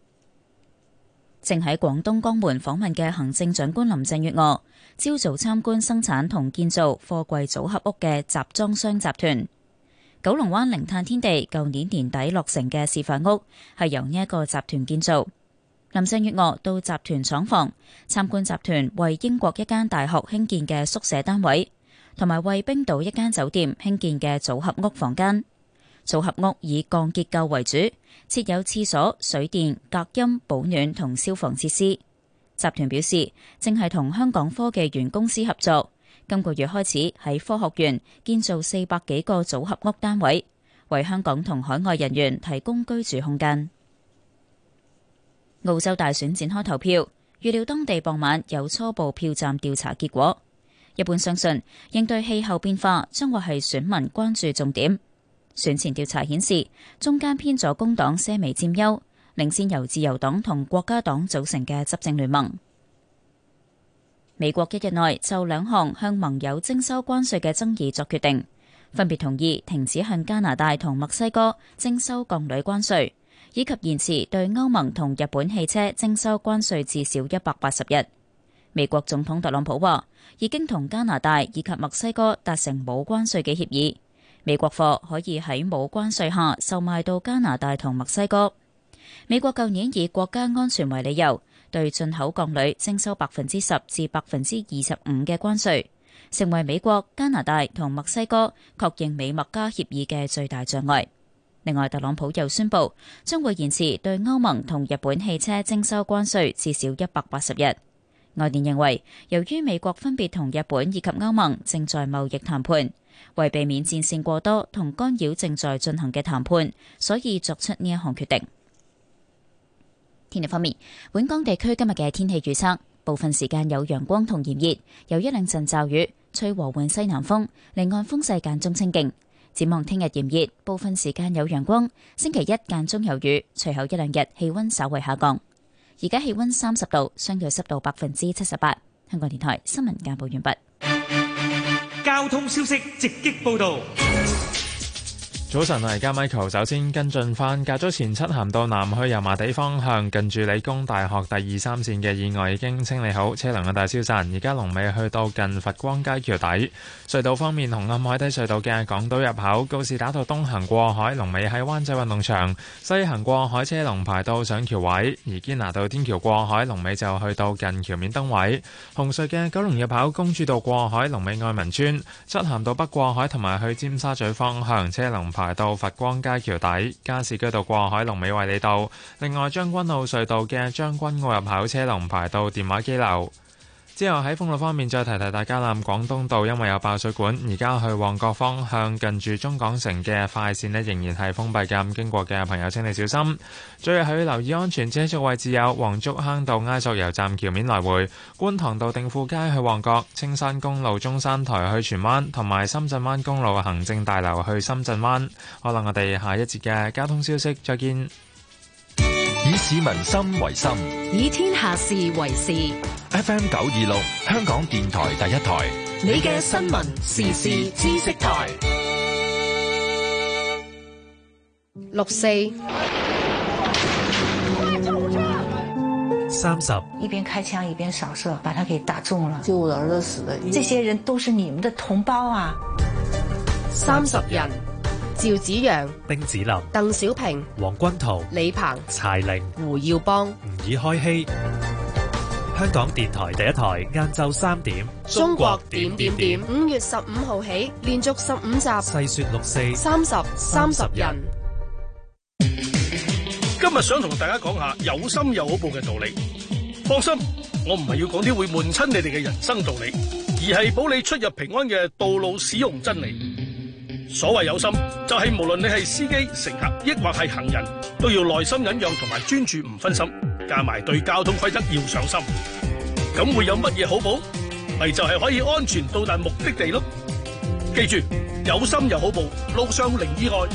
正喺廣東江門訪問嘅行政長官林鄭月娥，朝早參觀生產同建造貨櫃組合屋嘅集裝箱集團。九龍灣零碳天地舊年年底落成嘅示範屋係由呢一個集團建造。林鄭月娥到集團廠房參觀集團為英國一間大學興建嘅宿舍單位，同埋為冰島一間酒店興建嘅組合屋房間。組合屋以鋼結構為主，設有廁所、水電、隔音、保暖同消防設施。集團表示，正係同香港科技園公司合作，今個月開始喺科學園建造四百幾個組合屋單位，為香港同海外人員提供居住空間。澳洲大選展開投票，預料當地傍晚有初步票站調查結果。一般相信，應對氣候變化將會係選民關注重點。選前調查顯示，中間偏左工黨些微佔優，領先由自由黨同國家黨組成嘅執政聯盟。美國一日內就兩項向盟友徵收關稅嘅爭議作決定，分別同意停止向加拿大同墨西哥徵收鋼鋁關稅， 以及延遲對歐盟同日本汽車徵收關稅至少一百八十日。美國總統特朗普話已經同加拿大以及墨西哥達成冇關稅嘅協議，美國貨可以喺冇關稅下售賣到加拿大同墨西哥。美國舊年以國家安全為理由，對進口鋼鋁徵收百分之十至百分之二十五嘅關稅，成為美國、加拿大同墨西哥確認美墨加協議嘅最大障礙。另外，特朗普又宣布將會延遲對歐盟同日本汽車徵收關稅至少一百八十日。外電認為，由於美國分別同日本以及歐盟正在貿易談判，為避免戰線過多同干擾正在進行嘅談判，所以作出呢一項決定。天氣方面，本港地區今日嘅天氣預測，部分時間有陽光同炎熱，有一兩陣驟雨，吹和緩西南風，離岸風勢間中清勁。展望聽日炎熱，部分時間有陽光，星期一間中有雨，隨後一兩日氣溫稍為下降。而家氣溫三十度，相對濕度百分之七十八。香港電台新聞簡報完畢。 交通消息直擊報道。 早晨，我係加 Michael， 首先跟進翻，較早前漆咸道南去油麻地方向近住理工大學第二三線嘅意外已經清理好，車輛嘅大消散。而家龍尾去到近佛光街橋底。隧道方面，紅磡海底隧道嘅港島入口告士打道東行過海，龍尾喺灣仔運動場；西行過海車龍排到上橋位。而堅拿道天橋過海龍尾就去到近橋面燈位。紅隧嘅九龍入口公主道過海龍尾愛民村，漆咸道北過海同埋去尖沙咀方向車龍排到佛光街橋底，加士居道過海龍尾衛理道。另外，將軍澳隧道嘅將軍澳入口車龍排到電話機樓。之後喺封路方面，再提提大家啦。廣東道因為有爆水管，而家去旺角方向近住中港城嘅快線呢仍然係封閉嘅，經過嘅朋友請你小心。最後係要留意安全車速位置有黃竹坑道埃索油站橋面來回、觀塘道定富街去旺角、青山公路中山台去荃灣，同埋深圳灣公路行政大樓去深圳灣。可能我哋下一節嘅交通消息再見。 以市民心為心， 以天下事為事。 F M 九二六，香港電台第一台， 你嘅新聞時事知識台。 六四三十， 一邊開槍一邊掃射，把他給打中了。就我兒子死了，這些人都是你們的同胞啊！ 三十人。趙子陽、 丁子霖、 鄧小平、 黃君濤、 李鵬、 柴玲、 胡耀邦、 吾爾開希。香港電台第一台，晏晝三點， 中國點點點。五月十五號起，連續十五集， 細說六四， 三十三十人。 今日想同大家講下有心有好報嘅道理。放心，我唔係要講啲會悶親你哋嘅人生道理，而係保你出入平安嘅道路使用真理。所謂有心，就係無論你係司機、乘客，抑或係行人，都要耐心忍讓同埋專注唔分心，加埋對交通規則要上心。咁會有乜嘢好報？咪就係可以安全到達目的地咯。記住，有心有好報，路上零意外。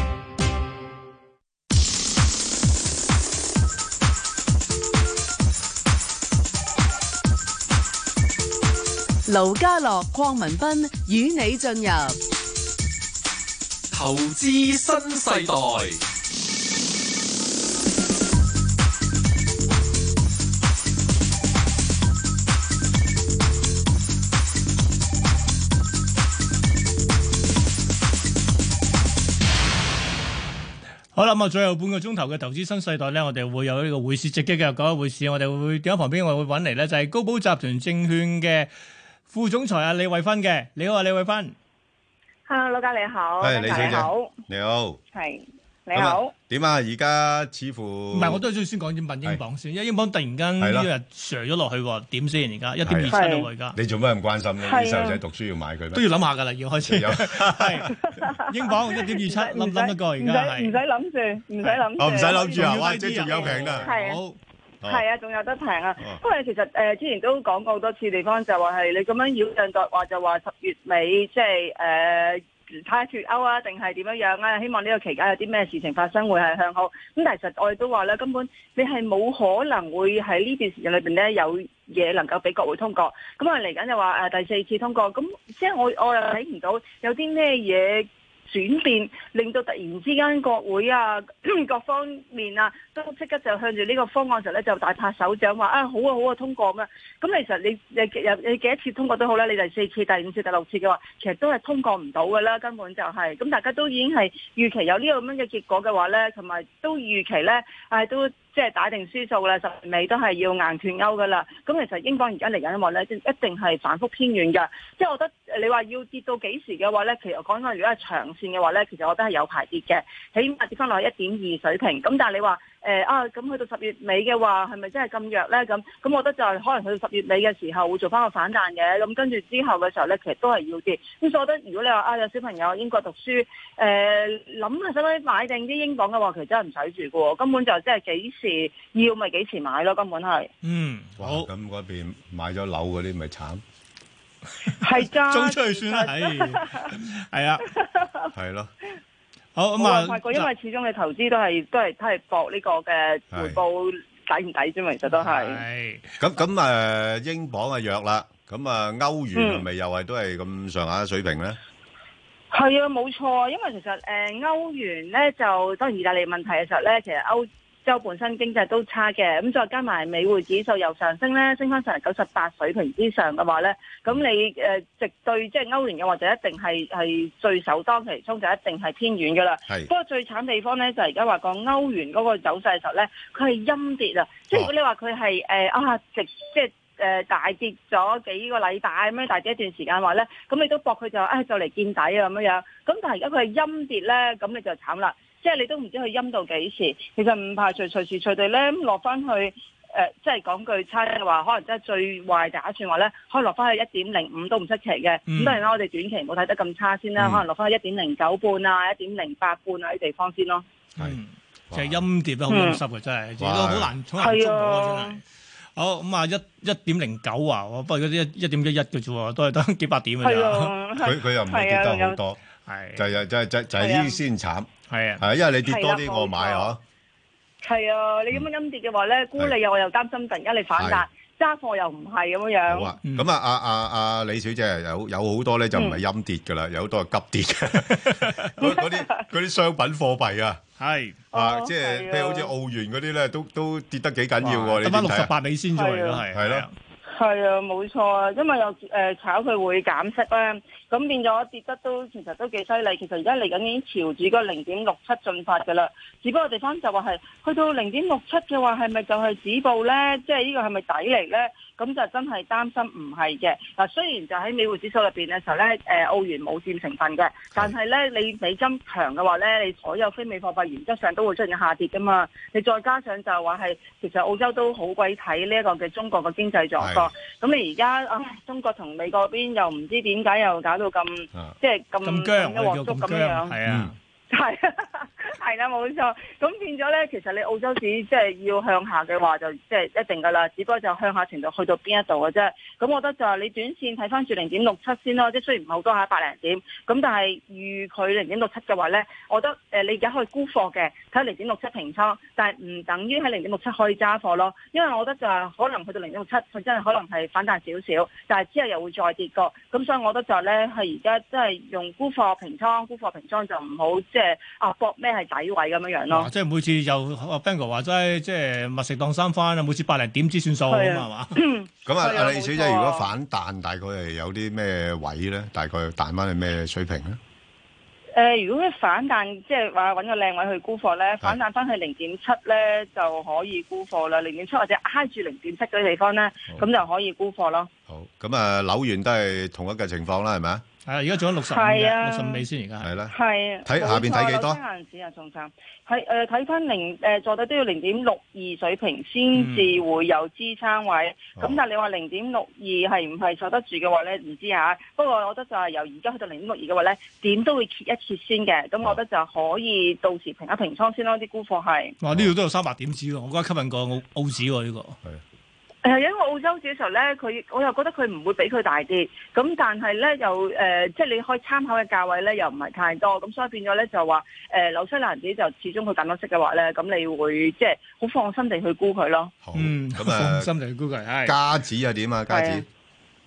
盧家樂、鄺民彬與你進入投資新世代。 好啦，咁啊，最後半個鐘頭嘅投資新世代咧，我哋會有呢個匯市直擊嘅。講下匯市，我哋會電話旁邊，我會揾嚟咧，就係高寶集團證券嘅副總裁啊李慧芬嘅。你好啊，李慧芬。 Hello，老家你好， 係李小姐，你好，你好， 係你好。 點啊？而家似乎唔係，我都係先講點問英鎊先，因為英鎊突然間呢日瀉咗落去，點先？而家一點二七咯，而家。你做咩咁關心咧？啲細路仔讀書要買佢咩？都要諗下㗎啦，要開始。係英鎊一點二七，諗諗得過而家係。 唔使諗住，唔使諗住。 哦，唔使諗住啊！哇，即係仲有平啊！ 好。係啊，仲有得平啊！因為其實誒、呃、之前都講過好多次地方，就話係你咁樣擾攘作話，就話十月尾即係誒睇下脫歐啊，定係點樣樣啊？希望呢個期間有啲咩事情發生會係向好。咁但係其實我哋都話咧，根本你係冇可能會喺呢段時間裏邊咧有嘢能夠俾國會通過。咁啊嚟緊就話誒第四次通過，咁即係我我又睇唔到有啲咩嘢轉變，令到突然之間國會啊各方面啊都即刻就向住呢個方案時候咧就大拍手掌話啊好啊好啊通過咁樣。咁其實你你你幾多次通過都好啦，你第四次、第五次、第六次嘅話，其實都係通過唔到㗎啦，根本就係、是、咁大家都已經係預期有呢個咁樣嘅結果嘅話咧，同埋都預期咧係都。即係打定輸數啦，十月尾都係要硬脱歐噶啦。咁其實英鎊而家嚟緊嘅話咧，一定係反覆偏軟㗎。即係我覺得你話要跌到幾時嘅話咧，其實講緊如果係長線嘅話咧，其實我覺得係有排跌嘅，起碼跌翻落去一點二水平。咁但係你話誒、呃、啊，咁去到十月尾嘅話，係咪真係咁弱咧？咁咁我覺得就係可能去到十月尾嘅時候會做翻個反彈嘅。咁跟住之後嘅時候咧，其實都係要跌。咁所以我覺得如果你話啊有小朋友英國讀書，誒諗下使唔使買定啲英鎊嘅話，其實真係唔使住嘅喎，根本就真係幾時要咪幾時買咯，根本係。 嗯，好。 咁嗰邊買咗樓嗰啲咪慘。 係㗎。 租出去算啦，係。係啊。係咯。好咁啊。 發覺因為始終你投資都係都係都係搏呢個嘅回報抵唔抵啫嘛，其實都係。係。咁咁誒，英鎊啊弱啦，咁啊歐元係咪又係都係咁上下水平咧？係啊，冇錯，因為其實誒、呃、歐元咧就當然意大利問題嘅時候咧，其實歐洲本身經濟都差嘅，咁再加埋美匯指數又上升咧，升翻上嚟九十八水平之上嘅話咧，咁你誒、呃、直對即係歐元嘅話就一定係係最首當其衝，就一定係偏軟噶啦。係。不過最慘地方咧就係而家話講歐元嗰個走勢嘅時候咧，佢係陰跌啊！即係如果你話佢係誒啊直即係。誒、呃、大跌咗幾個禮拜咁樣，大跌一段時間話咧，咁你都搏佢就誒、哎、就嚟見底啊咁樣樣。咁但係而家佢係陰跌咧，咁你就慘啦。即係你都唔知佢陰到幾時。其實唔排除隨時隨地咧落翻去誒、呃，即係講句差嘅話，可能真係最壞打算話咧，可能落翻去一點零五都唔出奇嘅。咁、嗯、當然啦，我哋短期唔好睇得咁差先啦，嗯、可能落翻去一點零九半啊、一點零八半啊啲地方先咯。係， 即係陰跌得好陰濕嘅真係，亦都好難好難捉摸真係。好咁啊，一一點零九啊，不過嗰啲一一點一一嘅啫，都係得幾百點嘅咋。佢佢又唔係跌得好多，係就係就係就就係呢啲先慘。係啊，係因為你跌多啲我買嗬。係啊，你咁樣陰跌嘅話咧，沽你又我又擔心突然間你反彈，揸貨又唔係咁樣樣。好啊，咁啊，阿阿阿李小姐有有好多咧就唔係陰跌噶啦，有好多係急跌嘅。嗰嗰啲嗰啲商品貨幣啊。係啊，即係譬如好似澳元嗰啲咧，都都跌得幾緊要喎。你得翻六十八美先咗咯，係係咯。係啊，冇錯啊，因為又誒炒佢會減息咧，咁變咗跌得都其實都幾犀利。其實而家嚟緊已經朝住個零點六七進發㗎啦。只不過地方就話係去到零點六七嘅話，係咪就係止步咧？即係呢個係咪底嚟咧？咁就真係擔心唔係嘅。嗱，雖然就喺美匯指數入邊嘅時候咧，誒澳元冇佔成分嘅，但係咧你美金強嘅話咧，你所有非美貨幣原則上都會出現下跌㗎嘛。你再加上就話係其實澳洲都好鬼睇呢一個嘅中國嘅經濟狀況。咁你而家啊，中國同美國邊又唔知點解又搞到咁，即係咁咁一鑊粥咁樣，係啊，係係啦，冇錯。咁變咗咧，其實你澳洲市即係要向下嘅話，就即係一定噶啦。只不過就向下程度去到邊一度嘅啫。咁我覺得就係你短線睇翻住零點六七先咯。即係雖然唔係好多下百零點，咁但係預佢零點六七嘅話咧，我覺得誒、呃、你而家可以沽貨嘅，睇零點六七平倉，但係唔等於喺零點六七可以揸貨咯。因為我覺得就係可能去到零點六七，佢真係可能係反彈少少，但係之後又會再跌過。咁所以我覺得就係咧係而家即係用沽貨平倉，沽貨平倉就唔好即係啊搏咩係底位咁樣樣咯。即係每次又阿 Ben 哥話齋，即係密食當三番啊！每次百零點之算數咁啊嘛。咁啊，阿李小姐，如果反彈大概係有啲咩位咧？大概彈翻去咩水平咧？誒、呃，如果佢反彈，即係話揾個靚位去沽貨咧，反彈翻去零點七咧就可以沽貨啦。零點七或者挨住零點七嗰啲地方咧，咁就可以沽貨咯。好，咁啊，紐元都係同一個情況啦，係咪啊？係啊，而家仲有六十五嘅，六十五美先而家係啦。係啊，睇下邊睇幾多？紐西蘭紙啊，仲慘。係誒，睇翻零誒，坐底都要零點六二水平先至會有支撐位。咁、嗯、但係你話零點六二係唔係受得住嘅話咧，唔知嚇。不過我覺得就係由而家去到零點六二嘅話咧，點都會揭一揭先嘅。咁我覺得就可以到時平一平倉先咯。啲沽貨係。哇！呢度都有三百點子喎，我覺得吸引過澳澳紙喎呢個。係。誒，因為澳洲紙嘅時候咧，佢我又覺得佢唔會比佢大跌，咁但係咧又誒、呃，即係你可以參考嘅價位咧，又唔係太多，咁所以變咗咧就話誒紐西蘭紙就始終佢減咗息嘅話咧，咁你會即係好放心地去沽佢咯。好，嗯，咁啊，放心地去沽佢。係加紙又點啊？加紙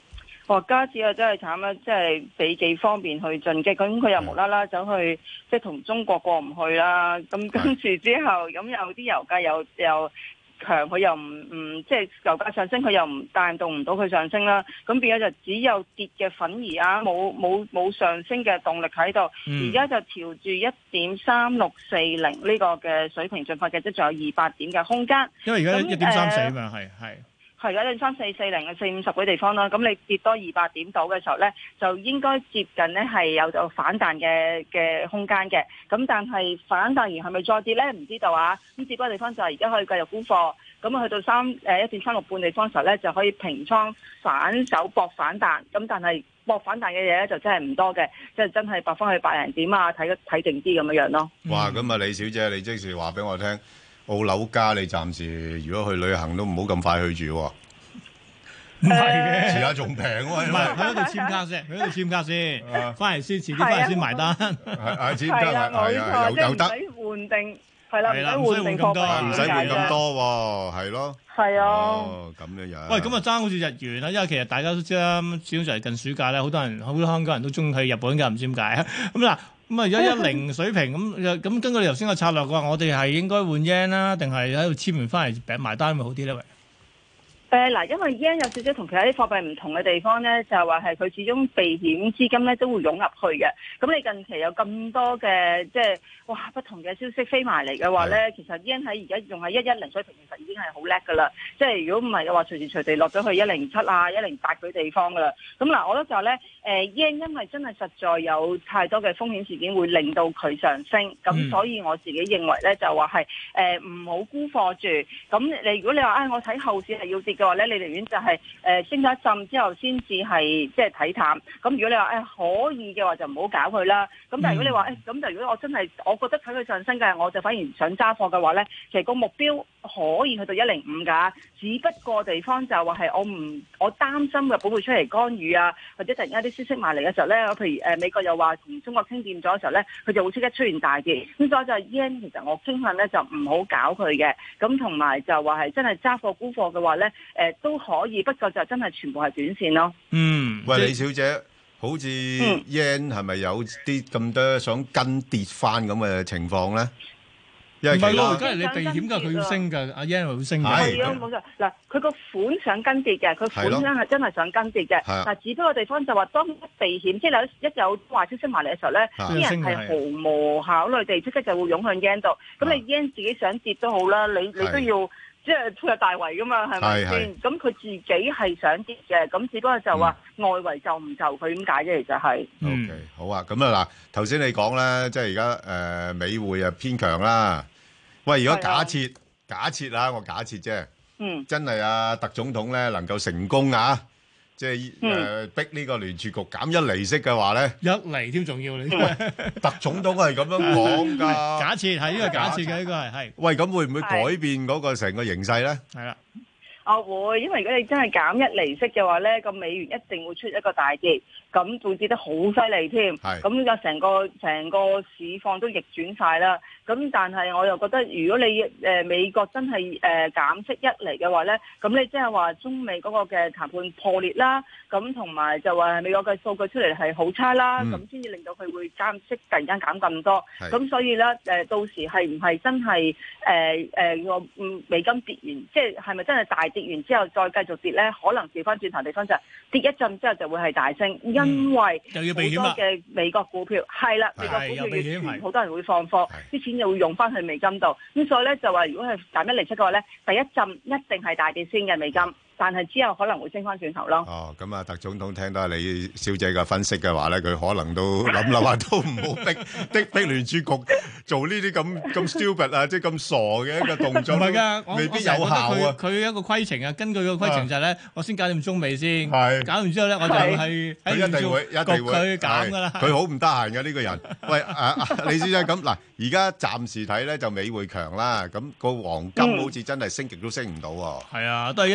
哇！加紙啊，真係慘啦，即係俾幾方便去進擊，咁佢又無啦啦走去即係同中國過唔去啦，咁跟住之後咁有啲油價又又強，佢又唔唔即係油價上升，佢又唔帶動唔到佢上升啦，咁變咗就只有跌嘅反而啊，冇冇冇上升嘅動力喺度，而家、嗯、就調住一點三六四零呢個嘅水平進發嘅，即仲有二百點嘅空間。 因為而家一點三四啊嘛，係係。 係而家你三四四零嘅四五十嗰啲地方啦，咁你跌多二百點到嘅時候咧，就應該接近咧係有就反彈嘅嘅空間嘅。咁但係反彈完係咪再跌咧？唔知道啊。咁跌多地方就係而家可以繼續沽貨，咁啊去到三誒一點三六半地方時候咧，就可以平倉反手搏反彈。咁但係搏反彈嘅嘢咧就真係唔多嘅，即係真係搏翻去百零點啊，睇睇定啲咁樣樣咯。 哇！咁啊，李小姐，你即時話俾我聽。澳樓價你暫時如果去旅行都唔好咁快去住喎， 唔係嘅， 遲下仲平喎， 唔係去嗰度簽卡先，去嗰度簽卡先，翻嚟先，遲啲翻嚟先埋單， 係係簽卡係係啊，有有得唔使換定，係啦，唔使換定咁多， 唔使換咁多喎，係咯， 係啊， 哦咁樣樣， 喂，咁啊爭好似日元啦，因為其實大家都知啦，始終就係近暑假咧，好多人好多香港人都中意去日本㗎，唔知點解啊，咁嗱。咁啊，而家一零水平咁，咁根據你頭先個策略嘅話，我哋係應該換 yen 啦，定係喺度簽完翻嚟餅埋單會好啲咧？喂， 誒嗱，因為 yen 有少少同其他啲貨幣唔同嘅地方咧，就係話係佢始終避險資金咧都會湧入去嘅。咁你近期有咁多嘅即係哇不同嘅消息飛埋嚟嘅話咧，其實 yen 喺而家仲係一一零水平，其實已經係好叻噶啦。即係如果唔係嘅話，隨時隨地落咗去一零七啊、一零八嗰啲地方噶啦。咁嗱，我覺得就係咧。誒 yen 因為真係實在有太多嘅風險事件會令到佢上升，咁、嗯、所以我自己認為咧就話係誒唔好沽貨住。咁你如果你話啊、哎，我睇後市係要跌嘅話咧，你寧願就係、是、誒、呃、升咗一陣之後先至係即係睇淡。咁如果你話誒、哎、可以嘅話就唔好搞佢啦。咁但係如果你話誒咁就如果我真係我覺得睇佢上升嘅，我就反而想揸貨嘅話咧，其實個目標可以去到一零五㗎。只不過地方就話係我唔我擔心嘅保護出嚟干預啊，或者突然間啲消息埋嚟嘅時候咧，譬如誒、呃、美國又話同中國傾掂咗嘅時候咧，佢就會即刻出現大跌。咁所以就 yen 其實我傾向咧就唔好搞佢嘅。咁同埋就話係真係揸貨沽貨嘅話咧，誒、呃、都可以，不過就真係全部係短線咯。 嗯， 喂，李小姐，好似 yen 係咪有啲咁多想跟跌翻咁嘅情況咧？唔係咯，而家係你避險㗎，佢要升㗎，阿 yen 會升㗎。 係啊，冇錯。嗱，佢個款想跟跌嘅，佢款真係真係想跟跌嘅。但係只不過地方就話，當一避險，即係有一有壞消息埋嚟嘅時候咧，啲人係毫無考慮地即刻就會湧向 yen 度。咁你 yen 自己想跌都好啦，你你都要即係配合大圍㗎嘛，係咪先？咁佢自己係想跌嘅，咁只不過就話外圍就唔就佢點解啫？其實係。 OK，好啊。咁啊嗱，頭先你講咧，即係而家誒美匯啊偏強啦。喂，如果假設、啊、假設啊，我假設啫， 嗯， 真係啊，特總統咧能夠成功啊，即係誒、呃、逼呢個聯儲局減一厘息嘅話咧， 一厘添重要你， 特總統係咁樣講㗎。 假設係呢個假設嘅呢個係係。 喂，咁會唔會改變嗰個成個形勢咧？ 係啦。 我會，因為如果你真係減一厘息嘅話咧，個美元一定會出一個大跌，咁會跌得好犀利添。係，咁就成個成個市況都逆轉晒啦。咁但係我又覺得，如果你誒、呃、美國真係誒、呃、減息一厘嘅話咧，咁你即係話中美嗰個嘅談判破裂啦，咁同埋就話美國嘅數據出嚟係好差啦，咁先至令到佢會減息，突然間減咁多。咁所以咧誒、呃，到時係唔係真係誒誒個美金跌完，即係係咪真係大跌完之後再繼續跌咧？可能調翻轉頭地方就跌一陣之後就會係大升，嗯、因為好多嘅美國股票係啦，美國股票要傳，好多人會放貨，啲錢就會用翻去美金度。咁所以咧就話，如果係減一厘息嘅話咧，第一陣一定係大跌先嘅美金。但係之後可能會升翻轉頭咯。 哦，咁啊，特總統聽到李小姐嘅分析嘅話咧，佢可能都諗諗下，都唔好逼逼逼聯儲局做呢啲咁咁 stupid 啊，即係咁傻嘅一個動作。唔係㗎，未必有效啊。 佢一個規程啊，根據個規程就係咧，我先搞掂中美先，搞完之後咧，我就係喺一定會一定會佢減㗎啦。 佢好唔得閒嘅呢個人。喂，啊李小姐咁嗱，而家暫時睇咧就美匯強啦，咁個黃金好似真係升極都升唔到喎。 係啊，都係一千二百七。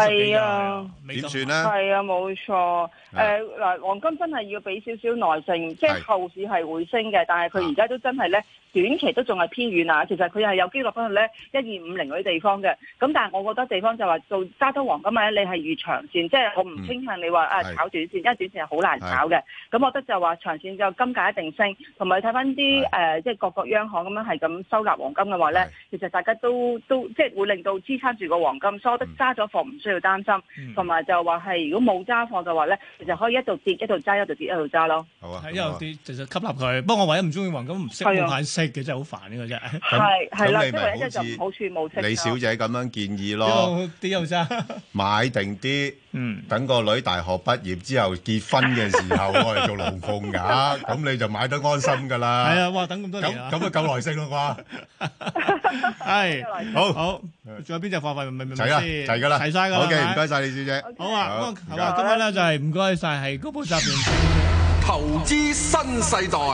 幾係啊， 點算咧？ 係啊，冇錯。誒嗱，黃金真係要俾少少耐性，即係後市係會升嘅，但係佢而家都真係咧。短期都仲係偏遠啊，其實佢係有機落翻去咧一二五零嗰啲地方嘅，咁但係我覺得地方就話做揸多黃金咧，你係預長線，即係我唔傾向你話啊炒短線，因為短線係好難炒嘅。咁我覺得就話長線就金價一定升，同埋睇翻啲誒即係各國央行咁樣係咁收納黃金嘅話咧，其實大家都都即係會令到支撐住個黃金，所以我覺得揸咗貨唔需要擔心，同埋就話係如果冇揸貨嘅話咧，其實可以一度跌一度揸，一度跌一度揸咯。 好啊， 一路跌就就吸納佢。不過我唯一唔中意黃金唔識冇限息。嘅真係好煩呢個真係， 係係啦， 咁你即係一就唔好處冇息。 李小姐咁樣建議咯， 啲又揸買定啲，嗯，等個女大學畢業之後結婚嘅時候，我哋做龍鳳㗎，咁你就買得安心㗎啦。 係啊，哇！等咁多年啊， 咁咁啊夠耐性咯啩。係，好，好， 仲有邊隻貨幣明唔明先？ 齊啦，齊㗎啦， 齊曬㗎啦。 好嘅，唔該曬李小姐。 好啊，咁啊，今日咧就係唔該曬係高寶集團投資新世代。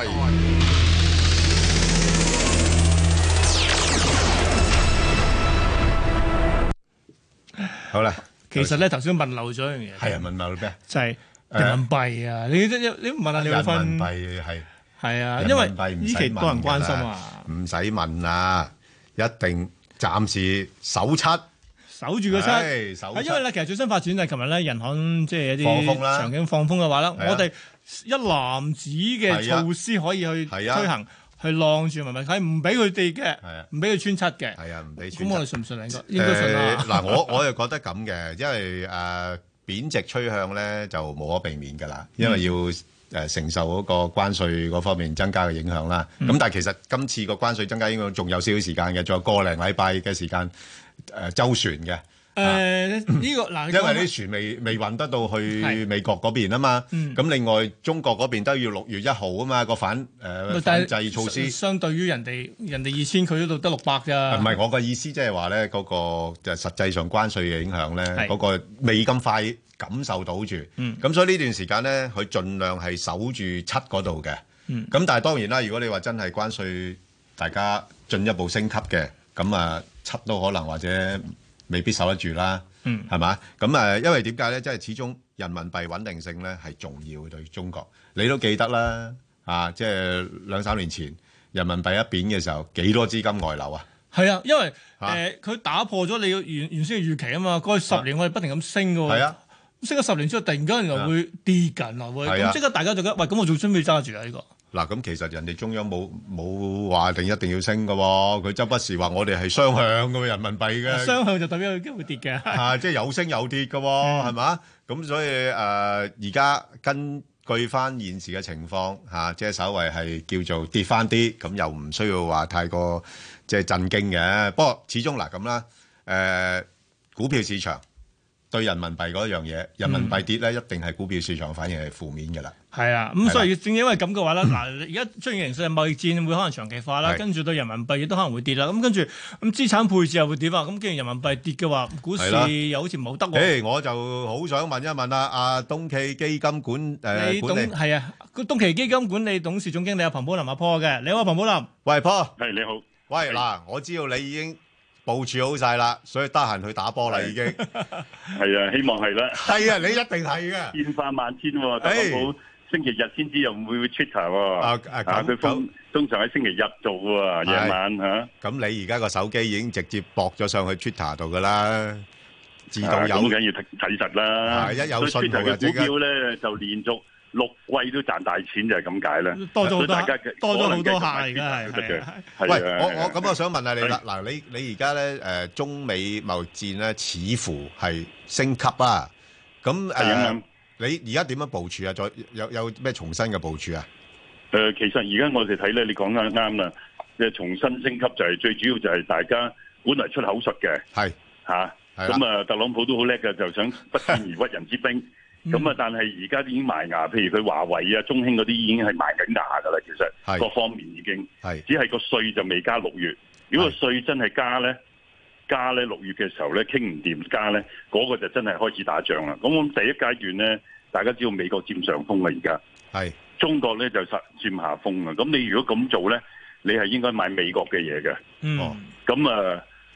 好啦， 其實咧頭先問漏咗一樣嘢， 係啊，問漏咩？ 就係人民幣啊！你你你問下你會分人民幣係係啊，因為呢期多人關心啊， 唔使問啦，一定暫時守七， 守住個七， 守。 因為咧，其實最新發展就係琴日咧，人行即係一啲場景放風嘅話咧，我哋一籃子嘅措施可以去推行。係晾住，咪咪係唔俾佢哋嘅，唔俾佢穿七嘅。 係啊，唔俾穿七。 咁我哋信唔信應該？應該信啦。 嗱，我我又覺得咁嘅，因為誒貶值趨向咧就無可避免㗎啦，因為要誒承受嗰個關稅嗰方面增加嘅影響啦。咁但係其實今次個關稅增加應該仲有少少時間嘅，仲有個零禮拜嘅時間誒周旋嘅。 誒呢個嗱， 因為啲船未未運得到去美國嗰邊啊嘛，咁另外中國嗰邊都要六月一號啊嘛個反誒反制措施。 相對於人哋人哋二千，佢嗰度得六百咋。 唔係我嘅意思，即係話咧嗰個就實際上關稅嘅影響咧，嗰個未咁快感受到住。咁所以呢段時間咧，佢盡量係守住七嗰度嘅。咁但係當然啦，如果你話真係關稅大家進一步升級嘅，咁啊七都可能或者。未必守得住啦，嗯，係嘛？咁誒，因為點解咧？即係始終人民幣穩定性咧係重要嘅對中國。你都記得啦，啊，即係兩三年前人民幣一貶嘅時候，幾多資金外流啊？ 係啊，因為誒佢打破咗你原原先嘅預期啊嘛。過去十年我哋不停咁升嘅喎，係啊，升咗十年之後，突然間原來會跌緊啊，會咁即刻大家就覺得喂，咁我仲準備揸住啊呢個。 嗱，咁其實人哋中央冇冇話定一定要升嘅喎，佢周不時話我哋係雙向嘅人民幣嘅， 雙向就代表有機會跌嘅， 啊，即係有升有跌嘅喎，係嘛？咁所以誒，而家根據翻現時嘅情況嚇，即係稍為係叫做跌翻啲，咁又唔需要話太過即係震驚嘅。不過始終嗱咁啦，誒股票市場對人民幣嗰樣嘢，人民幣跌咧，一定係股票市場反應係負面嘅啦。 係啊，咁所以正因為咁嘅話咧，嗱，而家出現形勢貿易戰會可能長期化啦，跟住對人民幣亦都可能會跌啦。咁跟住咁資產配置又會點啊？咁既然人民幣跌嘅話，股市又好似唔好得喎。 誒，我就好想問一問啊，阿東驥基金管誒管理係啊，個東驥基金管理董事總經理阿彭寶林阿坡嘅，你好，彭寶林。 喂，坡。 係你好。 喂，嗱，我知道你已經部署好晒啦，所以得閒去打波啦，已經。 係啊，希望係啦。 係啊，你一定係嘅。 變化萬千喎，特朗普星期日先知又唔會 Twitter 喎。啊啊，佢通通常喺星期日做喎，夜晚嚇。 咁你而家個手機已經直接駁咗上去 Twitter 度㗎啦，自動有。 咁梗要睇睇實啦。 係一有信號嘅股票咧，就連續六季都賺大錢，就係咁解啦。 多咗好多，多咗好多客而家係。 喂，我我咁我想問下你啦，嗱，你你而家咧誒中美貿易戰咧，似乎係升級啊，咁誒。你而家點樣部署啊？再有有咩重新嘅部署啊？ 誒、呃，其實而家我哋睇咧，你講得啱啦。即係重新升級就係、是、最主要就係大家本來出口術嘅， 係嚇。咁啊，特朗普都好叻嘅，就想不戰而屈人之兵。咁啊，但係而家已經埋牙，譬如佢華為啊、中興嗰啲已經係埋緊牙㗎啦。其實各方面已經係，只係個稅就未加六月。如果個稅真係加咧，加咧六月嘅時候咧，傾唔掂加咧，嗰、那個就真係開始打仗啦。咁我第一階段咧，大家知道美國佔上風啦，而家係中國咧就實佔下風啦。咁你如果咁做咧，你係應該買美國嘅嘢嘅。嗯，咁啊，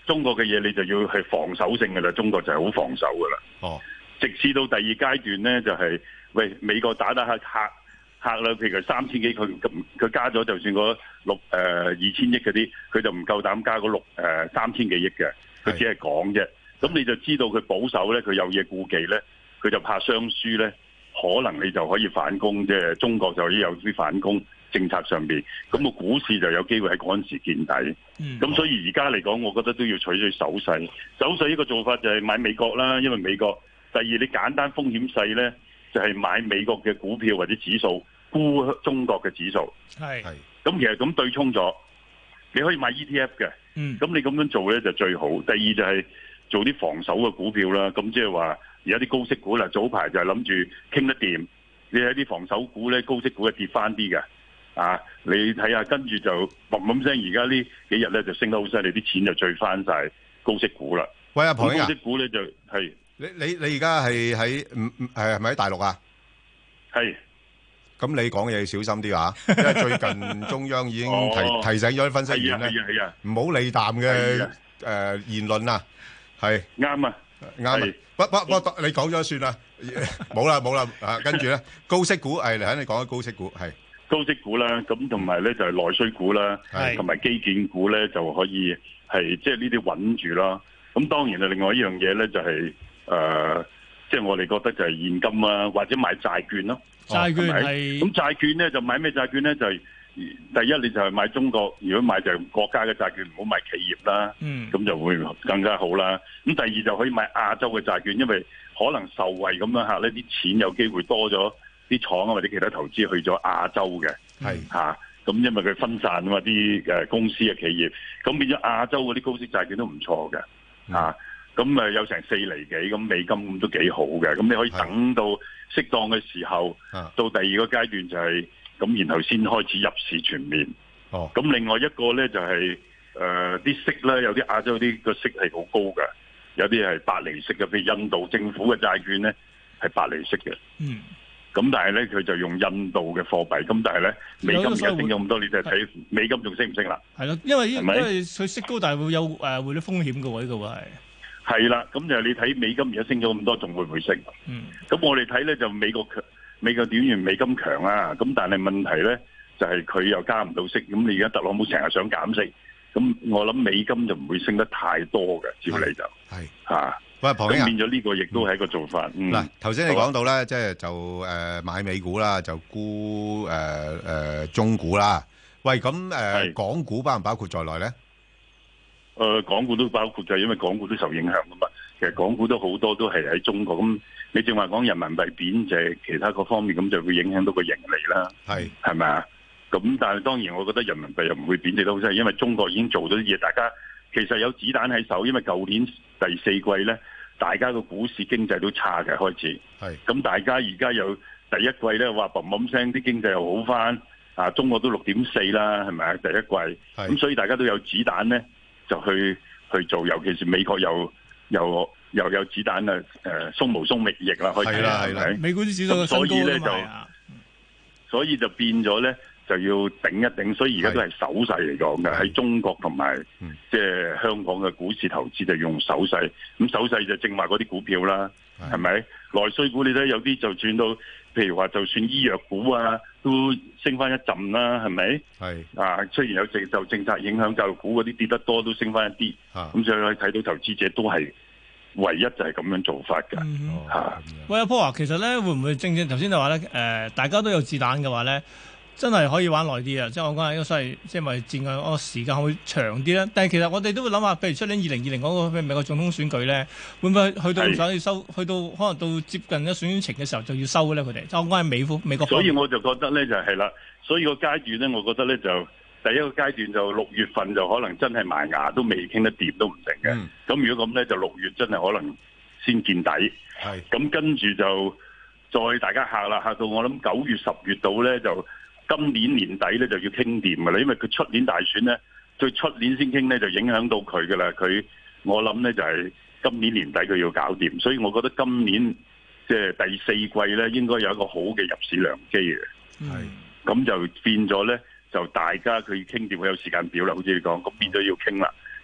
中國嘅嘢你就要係防守性㗎啦，中國就係好防守㗎啦。 哦， 直至到第二階段咧，就係、是、喂美國打打下嚇嚇啦，譬如三千幾，佢佢加咗就算嗰六誒二千億嗰啲，佢就唔夠膽加嗰六誒三千幾億嘅，佢只係講啫。咁你就知道佢保守咧，佢有嘢顧忌咧，佢就怕雙輸咧，可能你就可以反攻，即係中國就可以有啲反攻政策上邊，咁個股市就有機會喺嗰陣時見底。咁、嗯、所以而家嚟講，我覺得都要取取守勢。守勢呢個做法就係買美國啦，因為美國第二你簡單風險細咧，就係、是、買美國嘅股票或者指數，沽中國嘅指數。 係係。咁其實咁對沖咗，你可以買 E T F 嘅。嗯。咁你咁樣做咧就最好。第二就係做啲防守嘅股票啦。咁即係話而家啲高息股啦，早排就係諗住傾得掂。你喺啲防守股咧，高息股係跌翻啲嘅。啊，你睇下，跟住就砰砰聲，而家呢幾日咧就升得好犀利，啲錢就聚翻晒高息股啦。 喂，阿龐兄啊， 高息股咧就係你你你而家係喺唔唔係係咪喺大陸啊？ 係。 咁你講嘢要小心啲啊，因為最近中央已經提、哦、提醒咗啲分析員咧，唔好利淡嘅誒言論啊，係啱啊， 啱啊，不不不，你講咗算啦，冇啦冇啦啊，跟住咧高息股係嚟緊，你講緊高息股係高息股啦，咁同埋咧就係內需股啦，同埋基建股咧就可以係即係呢啲穩住啦。咁當然啊，另外一樣嘢咧就係、是、誒，即、呃、係、就是、我哋覺得就係現金啊，或者買債券咯。 債券係咁債券咧就買咩債券咧？就係、是、第一你就係買中國，如果買就係國家嘅債券，唔好買企業啦。嗯，咁就會更加好啦。咁第二就可以買亞洲嘅債券，因為可能受惠咁樣嚇呢啲錢有機會多咗，啲廠啊或者其他投資去咗亞洲嘅。係嚇，咁因為佢分散啊嘛啲誒公司嘅企業，咁變咗亞洲嗰啲高息債券都唔錯嘅嚇。咁誒有成四厘幾咁美金咁都幾好嘅，咁你可以等到適當嘅時候，到第二個階段就係、是、咁，然後先開始入市全面。哦，咁另外一個咧就係誒啲息咧，有啲亞洲啲個息係好高嘅，有啲係八厘息嘅，譬如印度政府嘅債券咧係八厘息嘅。嗯，咁但係咧佢就用印度嘅貨幣，咁但係咧美金而家升咗咁多，你就睇美金仲升唔升啦？係咯，因為因為佢息高，但係會有誒匯率風險嘅喎，呢個係。 係啦，咁就你睇美金而家升咗咁多，仲會唔會升？嗯，咁我哋睇咧就美國強，美國點完美金強啊，咁但係問題咧就係、是、佢又加唔到息，咁你而家特朗普成日想減息，咁我諗美金就唔會升得太多嘅，照嚟就係嚇。喂，龐兄，變咗呢個亦都係一個做法。 嗱、嗯，頭先你講到咧，即係就誒、呃、買美股啦，就沽誒誒中股啦。喂，咁誒、呃、港股包唔包括在內咧？ 誒、呃，港股都包括就係因為港股都受影響噶嘛，其實港股都好多都係喺中國，咁你正話講人民幣貶值，其他各方面咁就會影響到個盈利啦，係係咪啊？咁但係當然我覺得人民幣又唔會貶值得好犀利，因為中國已經做咗啲嘢，大家其實有子彈喺手，因為舊年第四季咧，大家個股市經濟都差嘅開始，係咁大家而家又第一季咧話砰砰聲啲經濟又好翻，啊中國都六點四啦，係咪啊？第一季，咁所以大家都有子彈咧。就去去做，尤其是美國又又又有子彈啊！誒，鬆毛鬆翼翼啦，開始啦，係咪？ 美股啲指數所以咧就，所以就變咗咧就要頂一頂，所以而家都係手勢嚟講嘅，喺中國同埋即係香港嘅股市投資就用手勢，咁手勢就正話嗰啲股票啦，係咪？內需股你睇有啲就轉到，譬如話就算醫藥股啊，都升翻一陣啦，係咪？係啊，雖然有政就政策影響教育股嗰啲跌得多，都升翻一啲。咁所以可以睇到投資者都係唯一就係咁樣做法㗎。嚇、嗯啊！ 喂，阿 Paul 啊，其實咧會唔會正正頭先就話咧？誒、呃，大家都有子彈嘅話咧？真係可以玩耐啲啊！即係我講係，所以即係咪佔嘅個時間會長啲咧？但係其實我哋都會諗下，譬如出年二零二零嗰個美國總統選舉咧，會唔會去到想要收，去到可能到接近一選情嘅時候就要收咧？佢哋就我講係美美國。 所以我就覺得咧就係、是、啦，所以個階段咧，我覺得咧就第一個階段就六月份就可能真係埋牙都未傾得掂都唔定嘅。咁、嗯、如果咁咧，就六月真係可能先見底。係咁跟住就再大家嚇啦，嚇到我諗九月十月度咧就。今年年底咧就要傾掂㗎啦，因為佢出年大選咧，最出年先傾咧就影響到佢㗎啦。佢我諗咧就係今年年底佢要搞掂，所以我覺得今年即係第四季咧應該有一個好嘅入市良機嘅。係，咁就變咗咧，就大家佢傾掂，佢有時間表啦，好似你講，咁變咗要傾啦。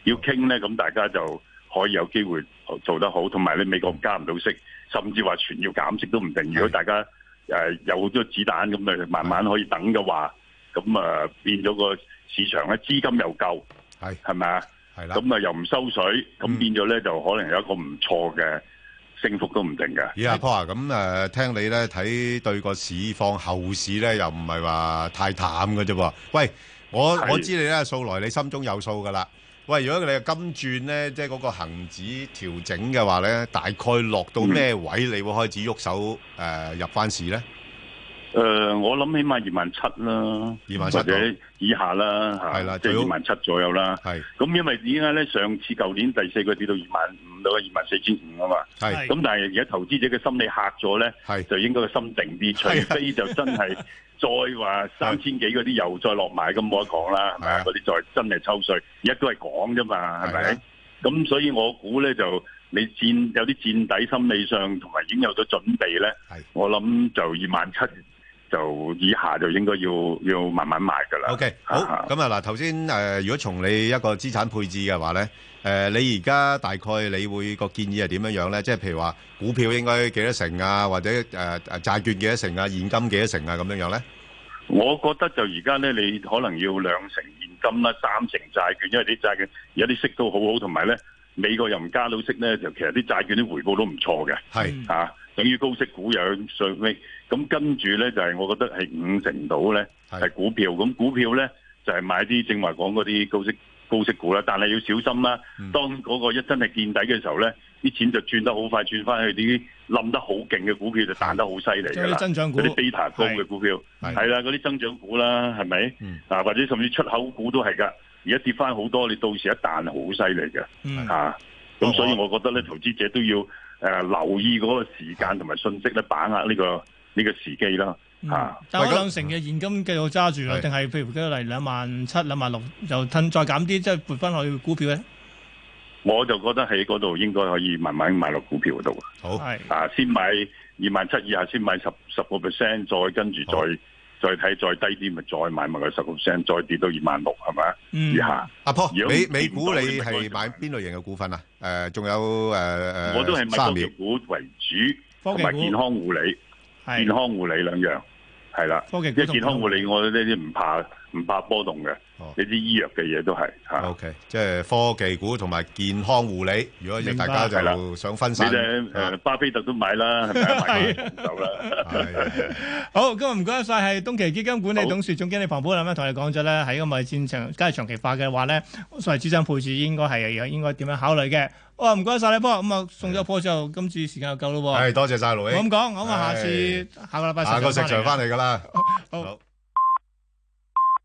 要傾咧，咁大家就可以有機會做得好，同埋你美國加唔到息，甚至話全要減息都唔定。如果大家誒、呃、有好多子彈咁誒，慢慢可以等嘅話，咁啊、呃、變咗個市場咧資金又夠， 係係咪啊？係啦，咁啊又唔收水，咁變咗咧就可能有一個唔錯嘅升幅都唔定嘅。 咦，阿 Paul 啊，咁誒、呃、聽你咧睇對個市況後市咧，又唔係話太淡嘅啫喎。喂，我我知你咧素來你心中有數噶啦。喂，如果你係金轉咧，即係嗰個恆指調整嘅話咧，大概落到咩位，嗯、你會開始喐手誒、呃、入翻市咧？ 誒、呃，我諗起碼二萬七啦， 二萬七或者以下啦，係啦，即係二萬七左右啦。係咁，因為點解咧？上次舊年第四個跌到二萬五到二萬四千五啊嘛。係咁，但係而家投資者嘅心理嚇咗咧，係就應該個心定啲，除非就真係再話三千幾嗰啲又再落埋，咁冇得講啦，係咪啊？嗰啲再真係抽稅，而家都係講啫嘛，係咪？咁所以我估咧就你戰有啲戰底心理上，同埋已經有咗準備咧，我諗就二萬七。就以下就應該要要慢慢賣㗎啦。 OK， 好，咁啊嗱，頭先誒，如果從你一個資產配置嘅話咧，誒、呃，你而家大概你會個建議係點樣樣咧？即係譬如話股票應該幾多成啊，或者誒誒、呃、債券幾多成啊，現金幾多成啊，咁樣樣咧？ 我覺得就而家咧，你可能要兩成現金啦，三成債券，因為啲債券而家啲息都好好，同埋咧美國又唔加到息咧，就其實啲債券啲回報都唔錯嘅。係嚇、啊，等於高息股又有上尾。咁跟住咧就係、是、我覺得係五成到咧係股票，咁股票咧就係、是、買啲正話講嗰啲高息高息股啦，但係要小心啦。嗯、當嗰個一真係見底嘅時候咧，啲錢就轉得好快，轉翻去啲冧得好勁嘅股票就彈得好犀利㗎啦。 增長股， 嗰啲 beta 高嘅股票係啦，嗰啲增長股啦，係咪？嗯、啊，或者甚至出口股都係㗎。而家跌翻好多，你到時一彈好犀利嘅。嗯、啊，咁所以我覺得咧，投資者都要誒、呃、留意嗰個時間同埋信息咧，把握呢、這個。呢個時機啦，嚇、嗯！ 但係兩成嘅現金繼續揸住啦，定係譬如舉例兩萬七、兩萬六，就褪再減啲，即係撥翻去股票咧？ 我就覺得喺嗰度應該可以慢慢買落股票度。好，啊，先買二萬七以下，先買十十個 percent，再跟住再再睇再低啲，咪再買埋個十個 percent，再跌到二萬六，係咪啊？以下。阿 Paul，美美股你係買邊類型嘅股份啊？誒、呃，仲有誒誒、呃、 我都係買科技股為主，同埋健康護理。健康護理兩樣係啦，因為健康護理我呢啲唔怕唔怕波動嘅，呢啲醫藥嘅嘢都係嚇。O K，即係科技股同埋健康護理。如果大家就想分散，你哋誒巴菲特都買啦，係咪啊？買走啦。 好，今日唔該晒，係東驥基金管理董事總經理龐寶林咧，同你講咗咧，喺咁嘅戰場，假如長期化嘅話咧，所謂資產配置應該係應該點樣考慮嘅。哇，唔該晒你波，咁啊送咗波之後，今次時間就夠咯喎。 係，多謝晒盧英。 咁講，咁啊下次下個禮拜下個食場翻嚟㗎啦。 好。